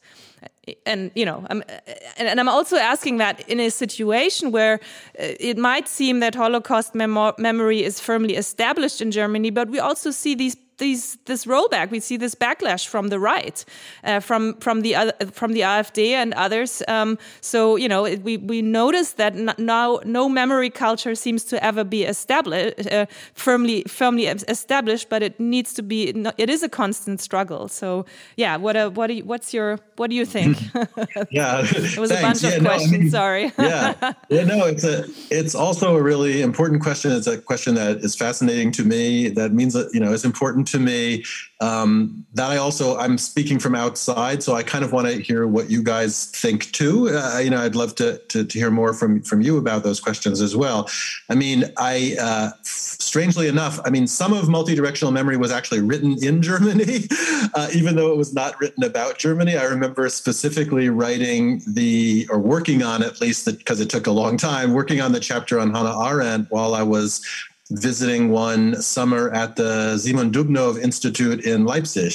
And, you know, I'm, and I'm also asking that in a situation where it might seem that Holocaust memo- memory is firmly established in Germany, but we also see these These, this rollback, we see this backlash from the right, uh, from from the other, from the AfD and others. Um, so you know, it, we we notice that n- now no memory culture seems to ever be established, uh, firmly firmly established, but it needs to be. It is a constant struggle. So yeah, what a, what do you, what's your what do you think? Yeah, it was thanks. a bunch yeah, of no, questions. I mean, sorry. yeah, yeah, no, it's a it's also a really important question. It's a question that is fascinating to me. That means that, you know, it's important to me. Um, that I also, I'm speaking from outside, so I kind of want to hear what you guys think too. Uh, you know, I'd love to, to to hear more from from you about those questions as well. I mean, I uh, strangely enough, I mean, some of multidirectional memory was actually written in Germany, uh, even though it was not written about Germany. I remember specifically writing the, or working on at least, because it took a long time, working on the chapter on Hannah Arendt while I was visiting one summer at the Simon Dubnow Institute in Leipzig.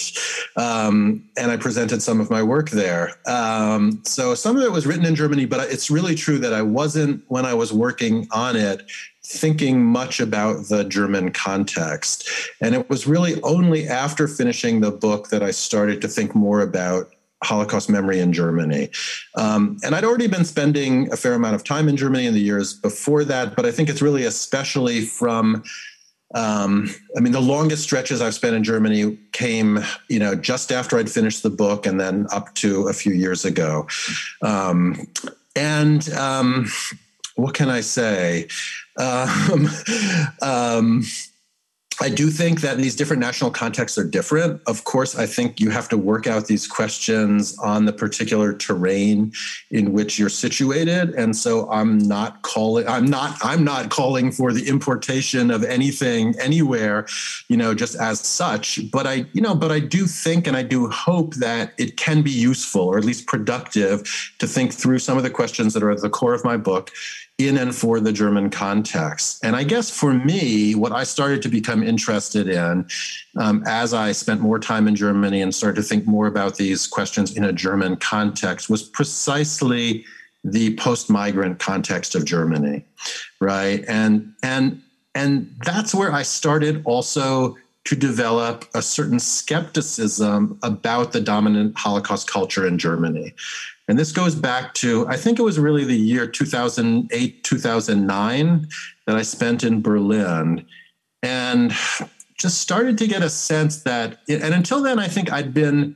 Um, and I presented some of my work there. Um, so some of it was written in Germany, but it's really true that I wasn't, when I was working on it, thinking much about the German context. And it was really only after finishing the book that I started to think more about Holocaust memory in Germany. Um, and I'd already been spending a fair amount of time in Germany in the years before that, but I think it's really especially from, um, I mean, the longest stretches I've spent in Germany came, you know, just after I'd finished the book and then up to a few years ago. Um, and um, what can I say? Um, um, I do think that these different national contexts are different. Of course, I think you have to work out these questions on the particular terrain in which you're situated. And so I'm not calling, I'm not, I'm not calling for the importation of anything anywhere, you know, just as such. But I, you know, but I do think, and I do hope that it can be useful, or at least productive, to think through some of the questions that are at the core of my book in and for the German context. And I guess for me, what I started to become interested in um, as I spent more time in Germany and started to think more about these questions in a German context was precisely the post-migrant context of Germany, right? And, and, and that's where I started also to develop a certain skepticism about the dominant Holocaust culture in Germany. And this goes back to, I think it was really the year two thousand eight, two thousand nine that I spent in Berlin, and just started to get a sense that, and until then, I think I'd been,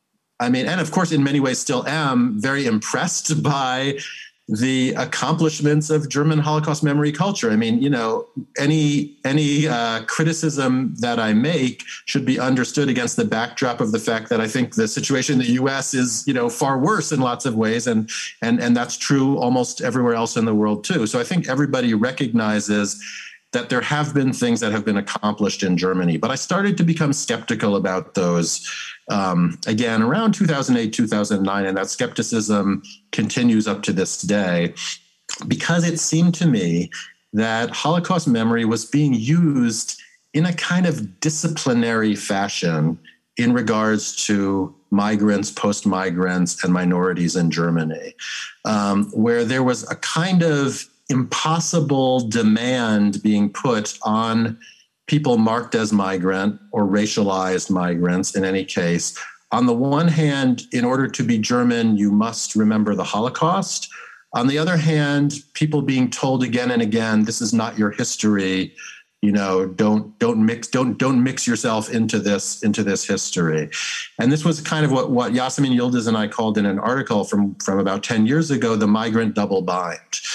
I mean, and of course, in many ways still am, very impressed by the accomplishments of German Holocaust memory culture. I mean, you know, any any uh, criticism that I make should be understood against the backdrop of the fact that I think the situation in the U S is, you know, far worse in lots of ways, and and and that's true almost everywhere else in the world too. So I think everybody recognizes that there have been things that have been accomplished in Germany, but I started to become skeptical about those um, again around two thousand eight, two thousand nine, and that skepticism continues up to this day, because it seemed to me that Holocaust memory was being used in a kind of disciplinary fashion in regards to migrants, post-migrants, and minorities in Germany, um, where there was a kind of impossible demand being put on people marked as migrant or racialized migrants in any case. On the one hand, in order to be German, you must remember the Holocaust. On the other hand, people being told again and again, this is not your history. You know, don't don't mix don't don't mix yourself into this into this history. And this was kind of what what Yasemin Yildiz and I called in an article from from about ten years ago, the migrant double bind.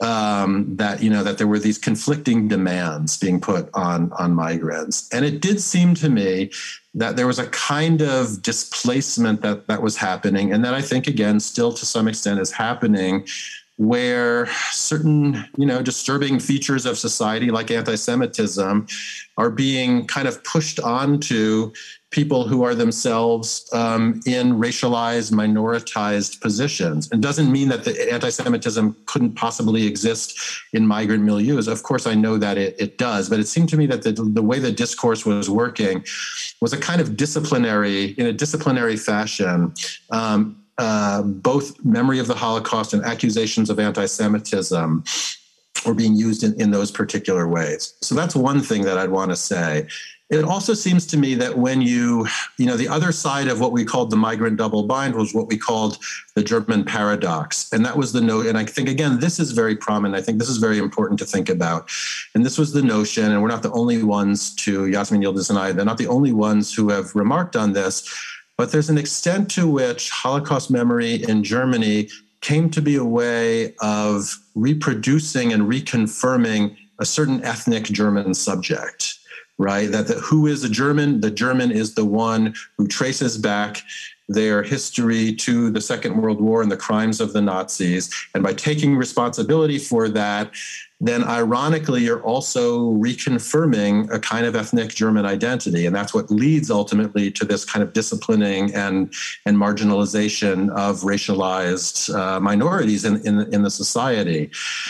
um, that, you know, that there were these conflicting demands being put on, on migrants. And it did seem to me that there was a kind of displacement that, that was happening. And that I think, again, still to some extent is happening, where certain, you know, disturbing features of society like anti-Semitism are being kind of pushed onto people who are themselves um, in racialized, minoritized positions. It doesn't mean that the anti-Semitism couldn't possibly exist in migrant milieus. Of course, I know that it, it does, but it seemed to me that the, the way the discourse was working was a kind of disciplinary, in a disciplinary fashion, um, Uh, both memory of the Holocaust and accusations of anti-Semitism were being used in, in those particular ways. So that's one thing that I'd want to say. It also seems to me that when you, you know, the other side of what we called the migrant double bind was what we called the German paradox. And that was the note. And I think, again, this is very prominent. I think this is very important to think about. And this was the notion, and we're not the only ones to, Yasmin Yildiz and I, they're not the only ones who have remarked on this. But there's an extent to which Holocaust memory in Germany came to be a way of reproducing and reconfirming a certain ethnic German subject, right? That the, who is a German? The German is the one who traces back their history to the Second World War and the crimes of the Nazis. And by taking responsibility for that, then ironically, you're also reconfirming a kind of ethnic German identity. And that's what leads ultimately to this kind of disciplining and, and marginalization of racialized uh, minorities in, in, in the society.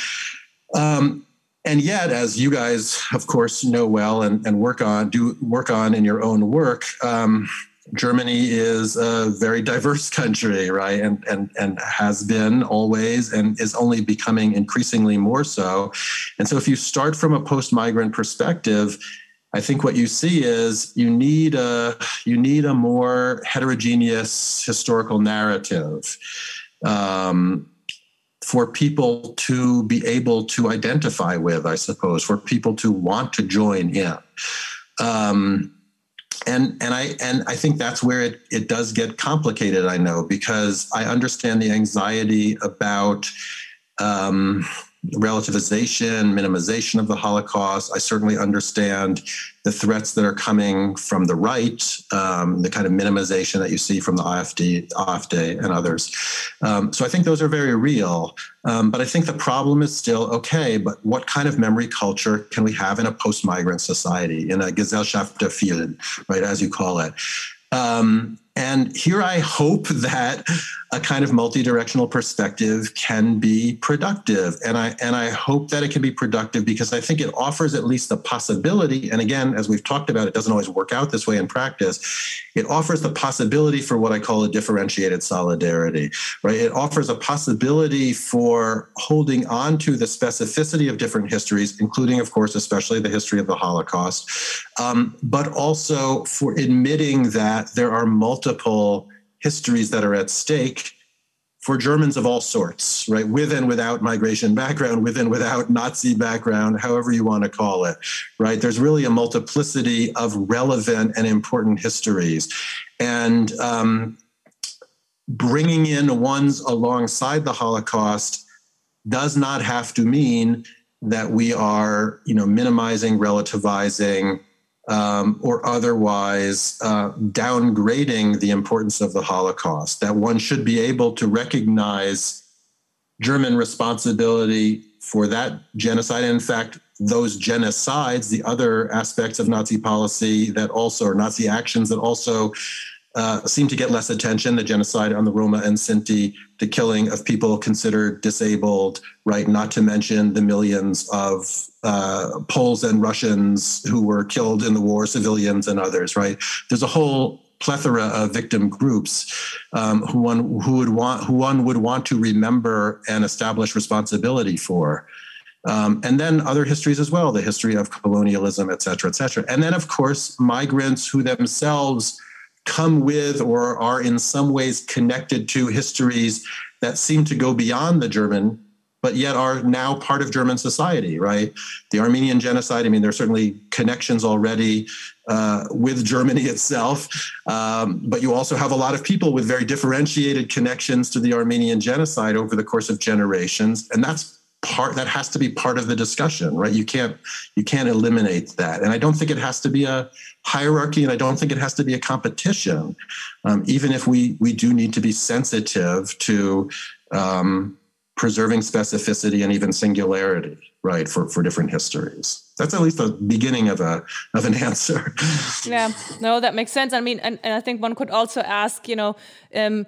Um, and yet, as you guys, of course, know well and, and work on, do work on in your own work, um, Germany is a very diverse country, right? And, and, and has been always and is only becoming increasingly more so. And so if you start from a post-migrant perspective, I think what you see is you need a, you need a more heterogeneous historical narrative um, for people to be able to identify with, I suppose, for people to want to join in. Um, And and I and I think that's where it, it does get complicated, I know, because I understand the anxiety about um, relativization, minimization of the Holocaust. I certainly understand the threats that are coming from the right, um, the kind of minimization that you see from the AfD, AfD and others. Um, so I think those are very real. Um, but I think the problem is still, okay, but what kind of memory culture can we have in a post-migrant society, in a Gesellschaft der Vielen, right, as you call it? Um, and here I hope that a kind of multi-directional perspective can be productive. And I and I hope that it can be productive because I think it offers at least the possibility, and again, as we've talked about, it doesn't always work out this way in practice, it offers the possibility for what I call a differentiated solidarity, right? It offers a possibility for holding on to the specificity of different histories, including, of course, especially the history of the Holocaust, um, but also for admitting that there are multiple histories that are at stake for Germans of all sorts, right? With and without migration background, with and without Nazi background, however you want to call it, right? There's really a multiplicity of relevant and important histories. And um, bringing in ones alongside the Holocaust does not have to mean that we are, you know, minimizing, relativizing, Um, or otherwise uh, downgrading the importance of the Holocaust, that one should be able to recognize German responsibility for that genocide. And in fact, those genocides, the other aspects of Nazi policy that also, or Nazi actions that also uh, seem to get less attention, the genocide on the Roma and Sinti, the killing of people considered disabled, right? Not to mention the millions of uh, Poles and Russians who were killed in the war, civilians and others, right? There's a whole plethora of victim groups um, who one who would want who one would want to remember and establish responsibility for. Um, and then other histories as well, the history of colonialism, et cetera, et cetera. And then, of course, migrants who themselves come with or are in some ways connected to histories that seem to go beyond the German, but yet are now part of German society, right? The Armenian genocide, I mean, there are certainly connections already uh, with Germany itself, um, but you also have a lot of people with very differentiated connections to the Armenian genocide over the course of generations. And that's part that has to be part of the discussion, right? You can't you can't eliminate that, and I don't think it has to be a hierarchy, and I don't think it has to be a competition. Um, even if we we do need to be sensitive to um, preserving specificity and even singularity, right? For for different histories. That's at least the beginning of a of an answer. Yeah, no, that makes sense. I mean, and, and I think one could also ask, you know. Um,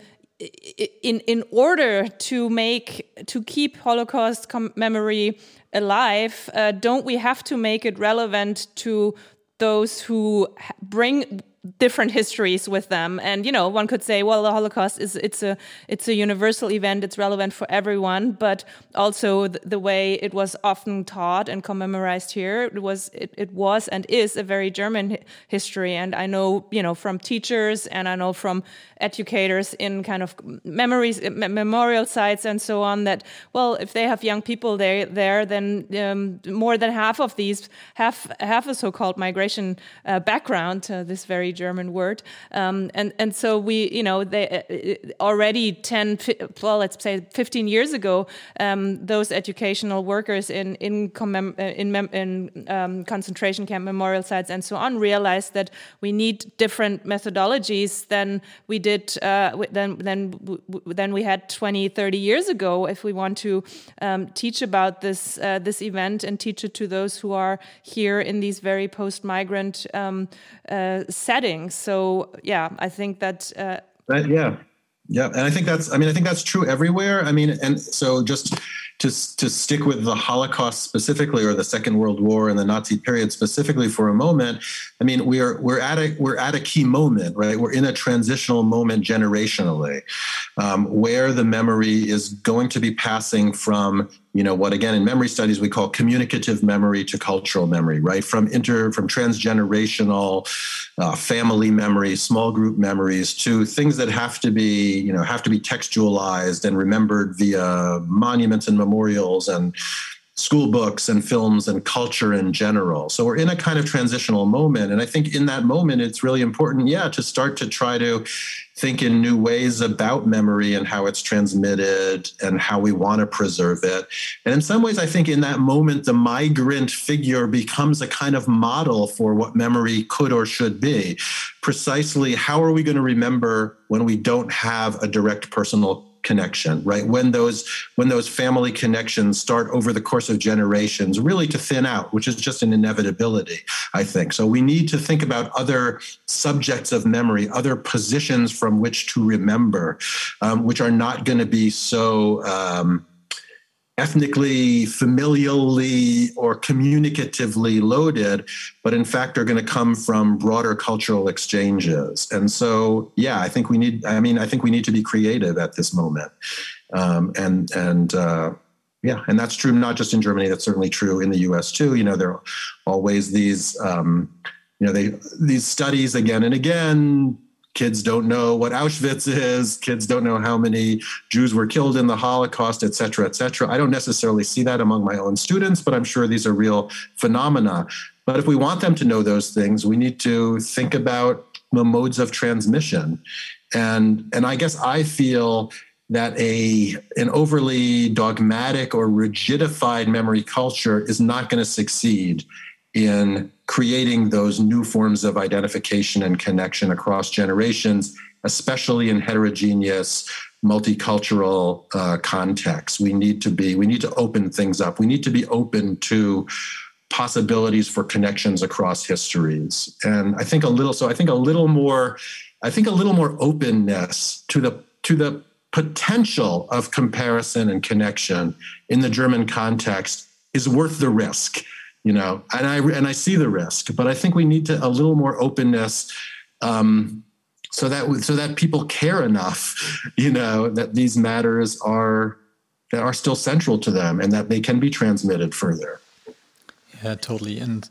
In in order to make to keep Holocaust com- memory alive, uh, don't we have to make it relevant to those who bring different histories with them? And you know, one could say, well, the Holocaust is it's a it's a universal event; it's relevant for everyone. But also the, the way it was often taught and commemorized here, it was it, it was and is a very German hi- history. And I know, you know, from teachers and I know from educators in kind of memories, memorial sites and so on, that, well, if they have young people there, there then um, more than half of these have, have a so-called migration uh, background, uh, this very German word. Um, and, and so we, you know, they uh, already ten, well, let's say fifteen years ago, um, those educational workers in, in, commem- in, mem- in um, concentration camp memorial sites and so on realized that we need different methodologies than we did uh, than than than we had twenty, thirty years ago if we want to um, teach about this uh, this event and teach it to those who are here in these very post-migrant um, uh, settings. So yeah, I think that uh, uh, yeah. Yeah, and I think that's, I mean, I think that's true everywhere. I mean, and so just to to stick with the Holocaust specifically, or the Second World War and the Nazi period specifically for a moment, I mean, we're we're at a we're at a key moment, right? We're in a transitional moment generationally, um, where the memory is going to be passing from, you know, what again in memory studies we call communicative memory to cultural memory, right? From inter from transgenerational uh, family memory, small group memories, to things that have to be, you know, have to be textualized and remembered via monuments and memorials and school books and films and culture in general. So we're in a kind of transitional moment. And I think in that moment, it's really important, yeah, to start to try to think in new ways about memory and how it's transmitted and how we want to preserve it. And in some ways, I think in that moment, the migrant figure becomes a kind of model for what memory could or should be. Precisely, how are we going to remember when we don't have a direct personal connection, right? When those when those family connections start over the course of generations really to thin out, which is just an inevitability, I think. So we need to think about other subjects of memory, other positions from which to remember, um, which are not going to be so um, ethnically, familially, or communicatively loaded, but in fact are going to come from broader cultural exchanges. And so, yeah, I think we need, I mean, I think we need to be creative at this moment. Um, and, and, uh, yeah, and that's true not just in Germany, that's certainly true in the U S too. You know, there are always these, um, you know, they, these studies again and again. Kids don't know what Auschwitz is. Kids don't know how many Jews were killed in the Holocaust, et cetera, et cetera. I don't necessarily see that among my own students, but I'm sure these are real phenomena. But if we want them to know those things, we need to think about the modes of transmission. And, and I guess I feel that a an overly dogmatic or rigidified memory culture is not going to succeed in creating those new forms of identification and connection across generations, especially in heterogeneous, multicultural uh, contexts. We need to be, we need to open things up. We need to be open to possibilities for connections across histories. And I think a little, so I think a little more, I think a little more openness to the to the potential of comparison and connection in the German context is worth the risk. You know, and I and I see the risk, but I think we need to a little more openness, um, so that so that people care enough, you know, that these matters are that are still central to them and that they can be transmitted further. Yeah, totally. And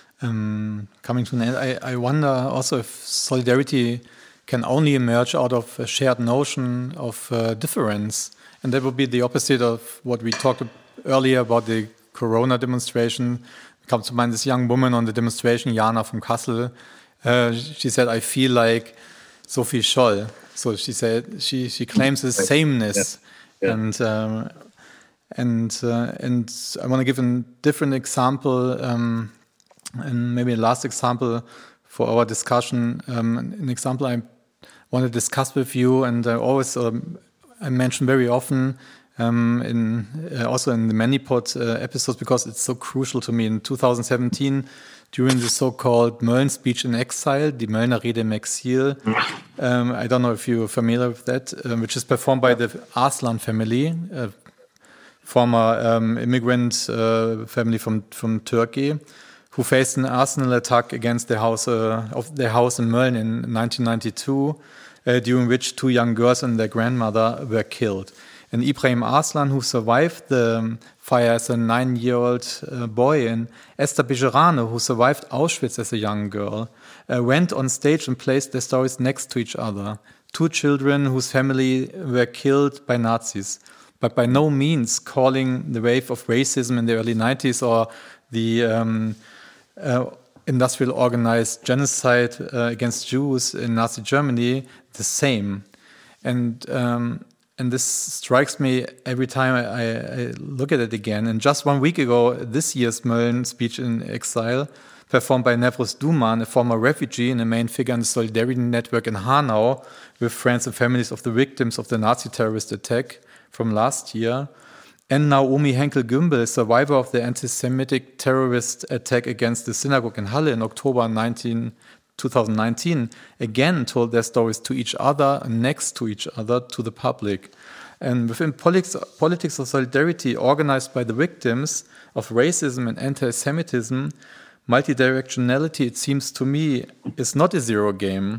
um, coming to an end, I, I wonder also if solidarity can only emerge out of a shared notion of uh, difference, and that would be the opposite of what we talked earlier about the Corona demonstration. Comes to mind this young woman on the demonstration, Jana from Kassel. Uh, she said, "I feel like Sophie Scholl." So she said she she claims this sameness, yeah. Yeah. and um, And uh, and I want to give a different example, um, and maybe a last example for our discussion. Um, an example I want to discuss with you, and I always um, I mention very often um, in uh, also in the ManyPod uh, episodes, because it's so crucial to me. In two thousand seventeen, during the so-called Mölln speech in exile, die Möllner Rede im Exil, um, I don't know if you're familiar with that, um, which is performed by the Arslan family, uh, former um, immigrant uh, family from from Turkey, who faced an arsenal attack against their house uh, of their house in Mölln in nineteen ninety-two, uh, during which two young girls and their grandmother were killed. And Ibrahim Arslan, who survived the um, fire as a nine-year-old uh, boy, and Esther Bejerano, who survived Auschwitz as a young girl, uh, went on stage and placed their stories next to each other. Two children whose family were killed by Nazis, but by no means calling the wave of racism in the early nineties or the um, uh, industrial organized genocide uh, against Jews in Nazi Germany the same. And um, and this strikes me every time I, I look at it again. And just one week ago, this year's Mölln speech in exile, performed by Nevros Duman, a former refugee and a main figure in the Solidarity Network in Hanau, with friends and families of the victims of the Nazi terrorist attack from last year, and Naomi Henkel-Gümbel, a survivor of the anti-Semitic terrorist attack against the synagogue in Halle in October twenty nineteen, again told their stories to each other and next to each other to the public. And within politics, politics of solidarity organized by the victims of racism and anti-Semitism, multidirectionality, it seems to me, is not a zero game,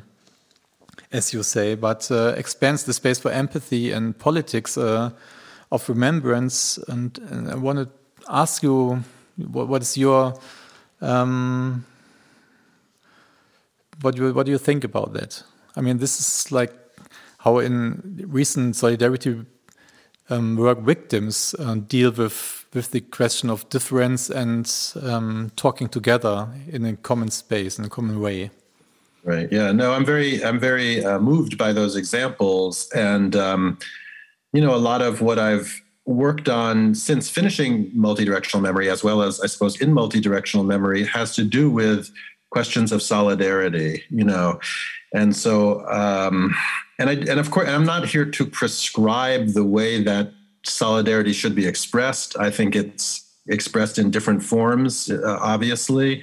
as you say, but uh, expands the space for empathy and politics uh, of remembrance. And, and I want to ask you, what, what is your, um, what you what do you think about that? I mean, this is like how in recent solidarity um, work victims uh, deal with with the question of difference and um, talking together in a common space, in a common way. Right. Yeah. No, I'm very, I'm very uh, moved by those examples, and um, you know, a lot of what I've worked on since finishing multidirectional memory, as well as I suppose in multidirectional memory, has to do with questions of solidarity. You know, and so, um, and I, and of course, I'm not here to prescribe the way that solidarity should be expressed. I think it's expressed in different forms, uh, obviously.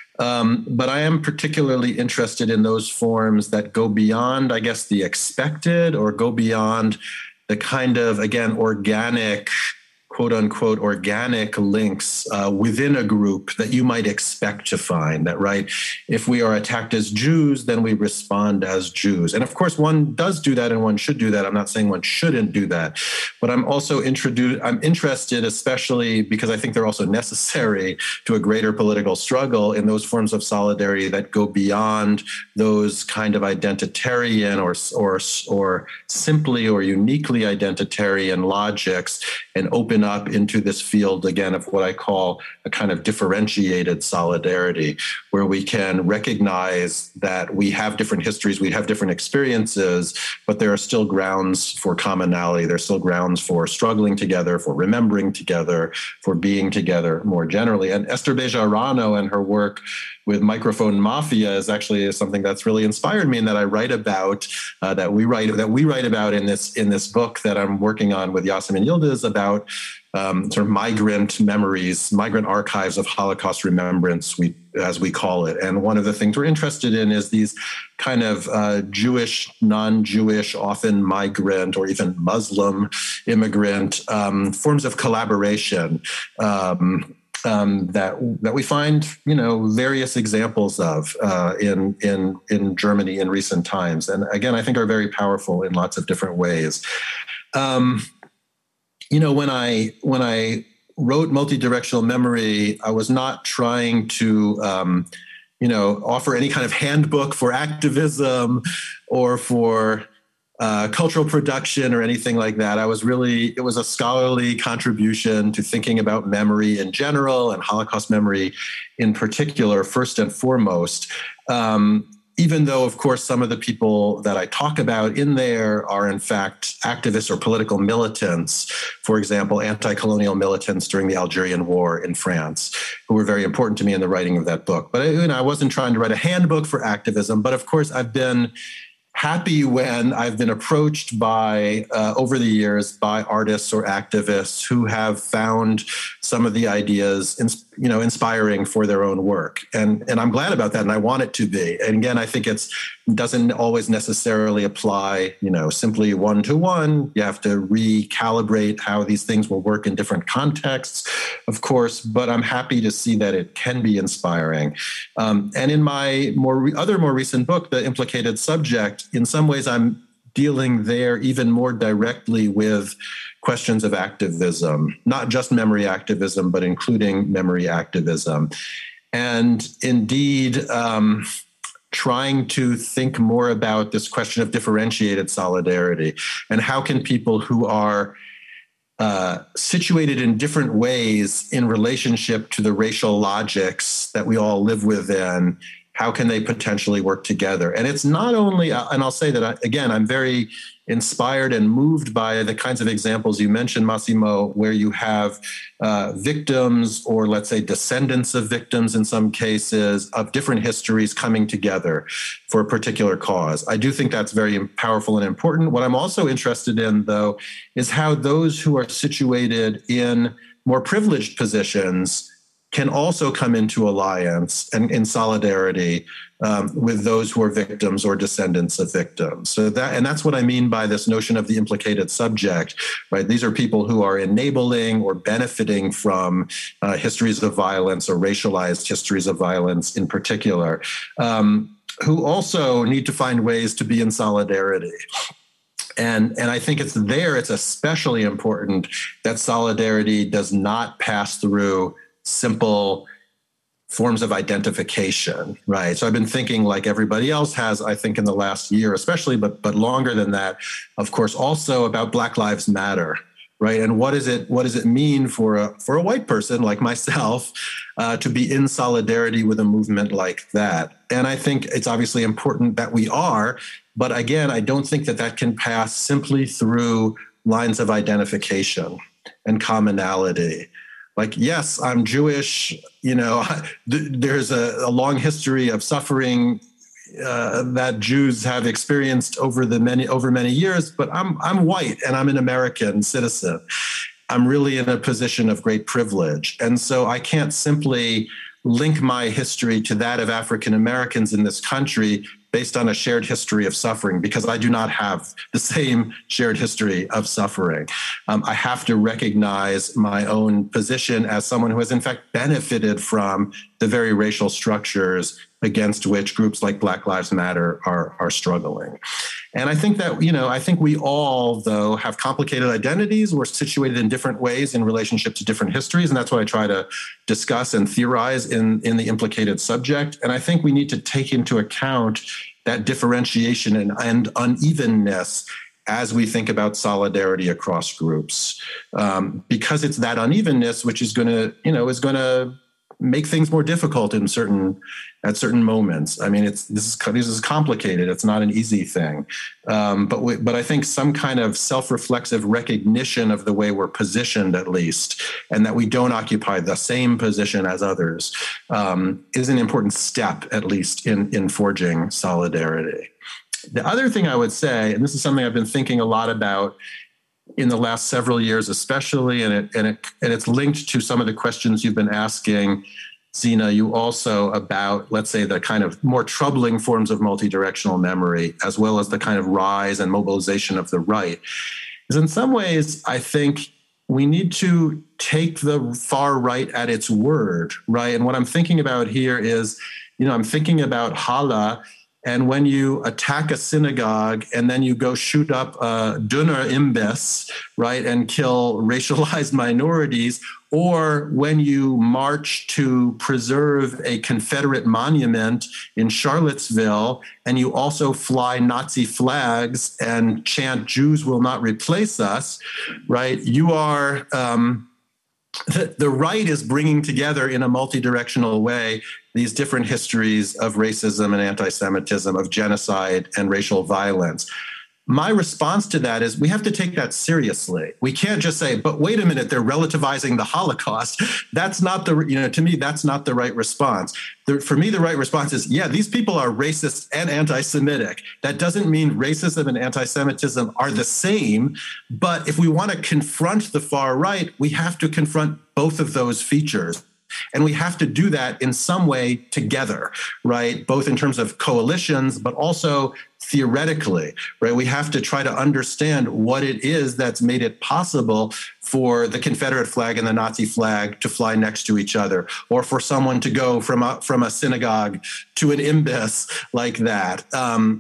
Um, but I am particularly interested in those forms that go beyond, I guess, the expected, or go beyond the kind of, again, organic, quote unquote, organic links uh, within a group that you might expect to find. That, right, if we are attacked as Jews, then we respond as Jews. And of course, one does do that and one should do that. I'm not saying one shouldn't do that. But I'm also introduced, I'm interested, especially because I think they're also necessary to a greater political struggle, in those forms of solidarity that go beyond those kind of identitarian or, or, or simply or uniquely identitarian logics, and open up into this field, again, of what I call a kind of differentiated solidarity, where we can recognize that we have different histories, we have different experiences, but there are still grounds for commonality. There's still grounds for struggling together, for remembering together, for being together more generally. And Esther Bejerano and her work with Microphone Mafia is actually something that's really inspired me, and that I write about, uh, that we write that we write about in this in this book that I'm working on with Yasemin Yildiz, about um, sort of migrant memories, migrant archives of Holocaust remembrance, we as we call it. And one of the things we're interested in is these kind of uh, Jewish, non-Jewish, often migrant or even Muslim immigrant um, forms of collaboration. Um, Um, that that we find, you know, various examples of uh, in in in Germany in recent times, and again, I think are very powerful in lots of different ways. Um, you know, when I when I wrote Multidirectional Memory, I was not trying to, um, you know, offer any kind of handbook for activism or for Uh, cultural production or anything like that. I was really, it was a scholarly contribution to thinking about memory in general and Holocaust memory in particular, first and foremost. Um, even though, of course, some of the people that I talk about in there are, in fact, activists or political militants, for example, anti-colonial militants during the Algerian War in France, who were very important to me in the writing of that book. But you know, I wasn't trying to write a handbook for activism, but of course, I've been happy when I've been approached by, uh, over the years, by artists or activists who have found some of the ideas, ins- you know, inspiring for their own work. And, and I'm glad about that, and I want it to be. And again, I think it's doesn't always necessarily apply, you know, simply one-to-one. You have to recalibrate how these things will work in different contexts, of course, but I'm happy to see that it can be inspiring. Um, and in my more re- other more recent book, The Implicated Subject, in some ways, I'm dealing there even more directly with questions of activism, not just memory activism, but including memory activism. And indeed, um, trying to think more about this question of differentiated solidarity and how can people who are uh, situated in different ways in relationship to the racial logics that we all live within, how can they potentially work together? And it's not only, and I'll say that, I, again, I'm very inspired and moved by the kinds of examples you mentioned, Massimo, where you have uh, victims or, let's say, descendants of victims in some cases of different histories coming together for a particular cause. I do think that's very powerful and important. What I'm also interested in, though, is how those who are situated in more privileged positions can also come into alliance and in solidarity um, with those who are victims or descendants of victims. So that, and that's what I mean by this notion of the implicated subject, right? These are people who are enabling or benefiting from uh, histories of violence or racialized histories of violence in particular, um, who also need to find ways to be in solidarity. And, and I think it's there, it's especially important that solidarity does not pass through simple forms of identification, right? So I've been thinking, like everybody else has, I think in the last year especially, but but longer than that, of course, also about Black Lives Matter, right? And what is it? What does it mean for a for a white person like myself uh, to be in solidarity with a movement like that? And I think it's obviously important that we are, but again, I don't think that that can pass simply through lines of identification and commonality. Like, yes, I'm Jewish, you know, th- there's a, a long history of suffering uh, that Jews have experienced over the many over many years, but I'm I'm white and I'm an American citizen. I'm really in a position of great privilege. And so I can't simply link my history to that of African Americans in this country based on a shared history of suffering, because I do not have the same shared history of suffering. Um, I have to recognize my own position as someone who has in fact benefited from the very racial structures against which groups like Black Lives Matter are, are struggling. And I think that, you know, I think we all, though, have complicated identities. We're situated in different ways in relationship to different histories. And that's what I try to discuss and theorize in, in the implicated subject. And I think we need to take into account that differentiation and, and unevenness as we think about solidarity across groups, um, because it's that unevenness which is going to, you know, is going to make things more difficult in certain at certain moments. I mean, it's this is this is complicated. It's not an easy thing, um, but we, but I think some kind of self-reflexive recognition of the way we're positioned, at least, and that we don't occupy the same position as others, um, is an important step, at least, in in forging solidarity. The other thing I would say, and this is something I've been thinking a lot about in the last several years, especially, and it and it and it's linked to some of the questions you've been asking, Zina, you also about, let's say, the kind of more troubling forms of multidirectional memory, as well as the kind of rise and mobilization of the right. Is in some ways, I think we need to take the far right at its word, right? And what I'm thinking about here is, you know, I'm thinking about Hala. And when you attack a synagogue and then you go shoot up a Döner Imbiss, right, and kill racialized minorities, or when you march to preserve a Confederate monument in Charlottesville and you also fly Nazi flags and chant "Jews will not replace us," right, you are... Um, the, the right is bringing together in a multi-directional way these different histories of racism and anti-Semitism, of genocide and racial violence. My response to that is we have to take that seriously. We can't just say, but wait a minute, they're relativizing the Holocaust. That's not the, you know, to me, that's not the right response. The, for me, the right response is, yeah, these people are racist and anti-Semitic. That doesn't mean racism and anti-Semitism are the same. But if we want to confront the far right, we have to confront both of those features. And we have to do that in some way together, right? Both in terms of coalitions, but also theoretically, right? We have to try to understand what it is that's made it possible for the Confederate flag and the Nazi flag to fly next to each other, or for someone to go from a, from a synagogue to an imbus like that. Um,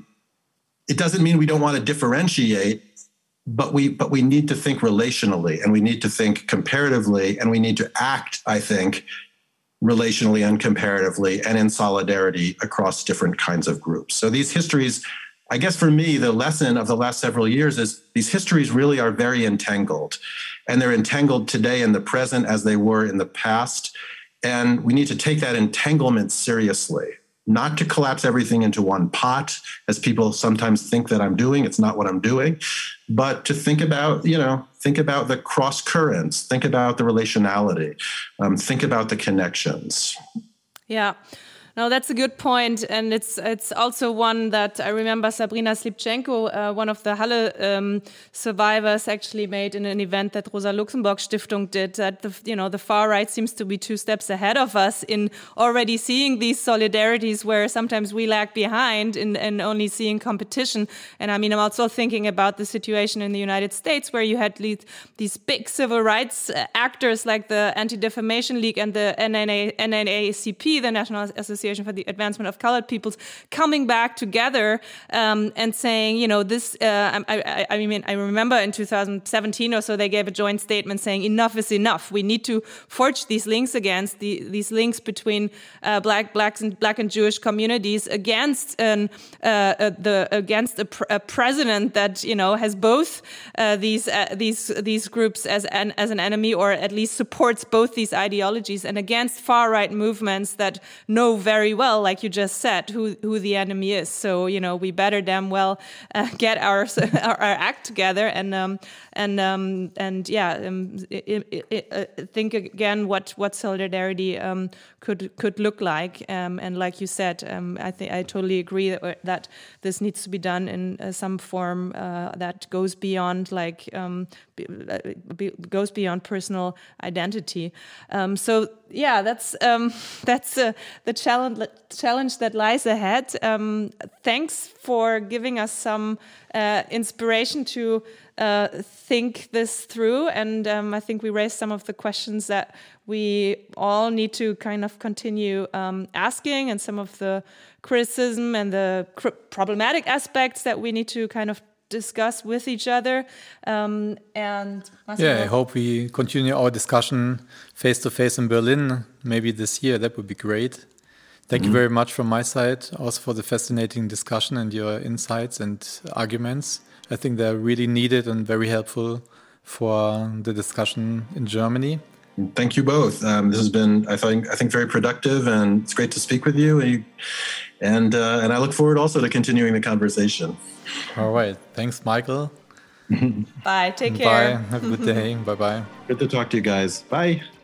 it doesn't mean we don't want to differentiate, but we but we need to think relationally, and we need to think comparatively, and we need to act, I think, relationally and comparatively and in solidarity across different kinds of groups. So these histories, I guess for me, the lesson of the last several years is these histories really are very entangled, and they're entangled today in the present as they were in the past. And we need to take that entanglement seriously. Not to collapse everything into one pot, as people sometimes think that I'm doing. It's not what I'm doing, but to think about, you know, think about the cross currents, think about the relationality, um, think about the connections. Yeah. No, that's a good point, and it's it's also one that I remember Sabrina Slipchenko, uh, one of the Halle um, survivors, actually made in an event that Rosa Luxemburg Stiftung did. That the you know the far right seems to be two steps ahead of us in already seeing these solidarities, where sometimes we lag behind in, in only seeing competition. And I mean, I'm also thinking about the situation in the United States, where you had these, these big civil rights actors like the Anti-Defamation League and the N double A C P, the National Association for the Advancement of Colored Peoples, coming back together um, and saying, you know, this, uh, I, I, I mean, I remember in two thousand seventeen or so, they gave a joint statement saying enough is enough. We need to forge these links against the, these links between uh, black, blacks and black and Jewish communities against an, uh, uh, the, against a, pr a president that, you know, has both uh, these, uh, these, these groups as an, as an enemy, or at least supports both these ideologies, and against far right movements that know very very well, like you just said, who who the enemy is. So, you know, we better damn well uh, get our, our our act together and um and um and yeah um, it, it, it, uh, think again what what solidarity um could could look like. Um, and like you said, um, I think I totally agree that that this needs to be done in uh, some form uh, that goes beyond like um be, be, goes beyond personal identity. Um, so yeah, that's um that's uh, the challenge. challenge that lies ahead. Um, thanks for giving us some uh, inspiration to uh, think this through. And um, I think we raised some of the questions that we all need to kind of continue um, asking, and some of the criticism and the cr problematic aspects that we need to kind of discuss with each other. Um, and yeah, I hope we continue our discussion face to face in Berlin, maybe this year. That would be great. Thank mm-hmm. you very much from my side, also for the fascinating discussion and your insights and arguments. I think they're really needed and very helpful for the discussion in Germany. Thank you both. Um, this has been, I think, I think, very productive, and it's great to speak with you. And and, uh, and I look forward also to continuing the conversation. All right. Thanks, Michael. Bye. Take care. Bye. Have a good day. Bye-bye. Good to talk to you guys. Bye.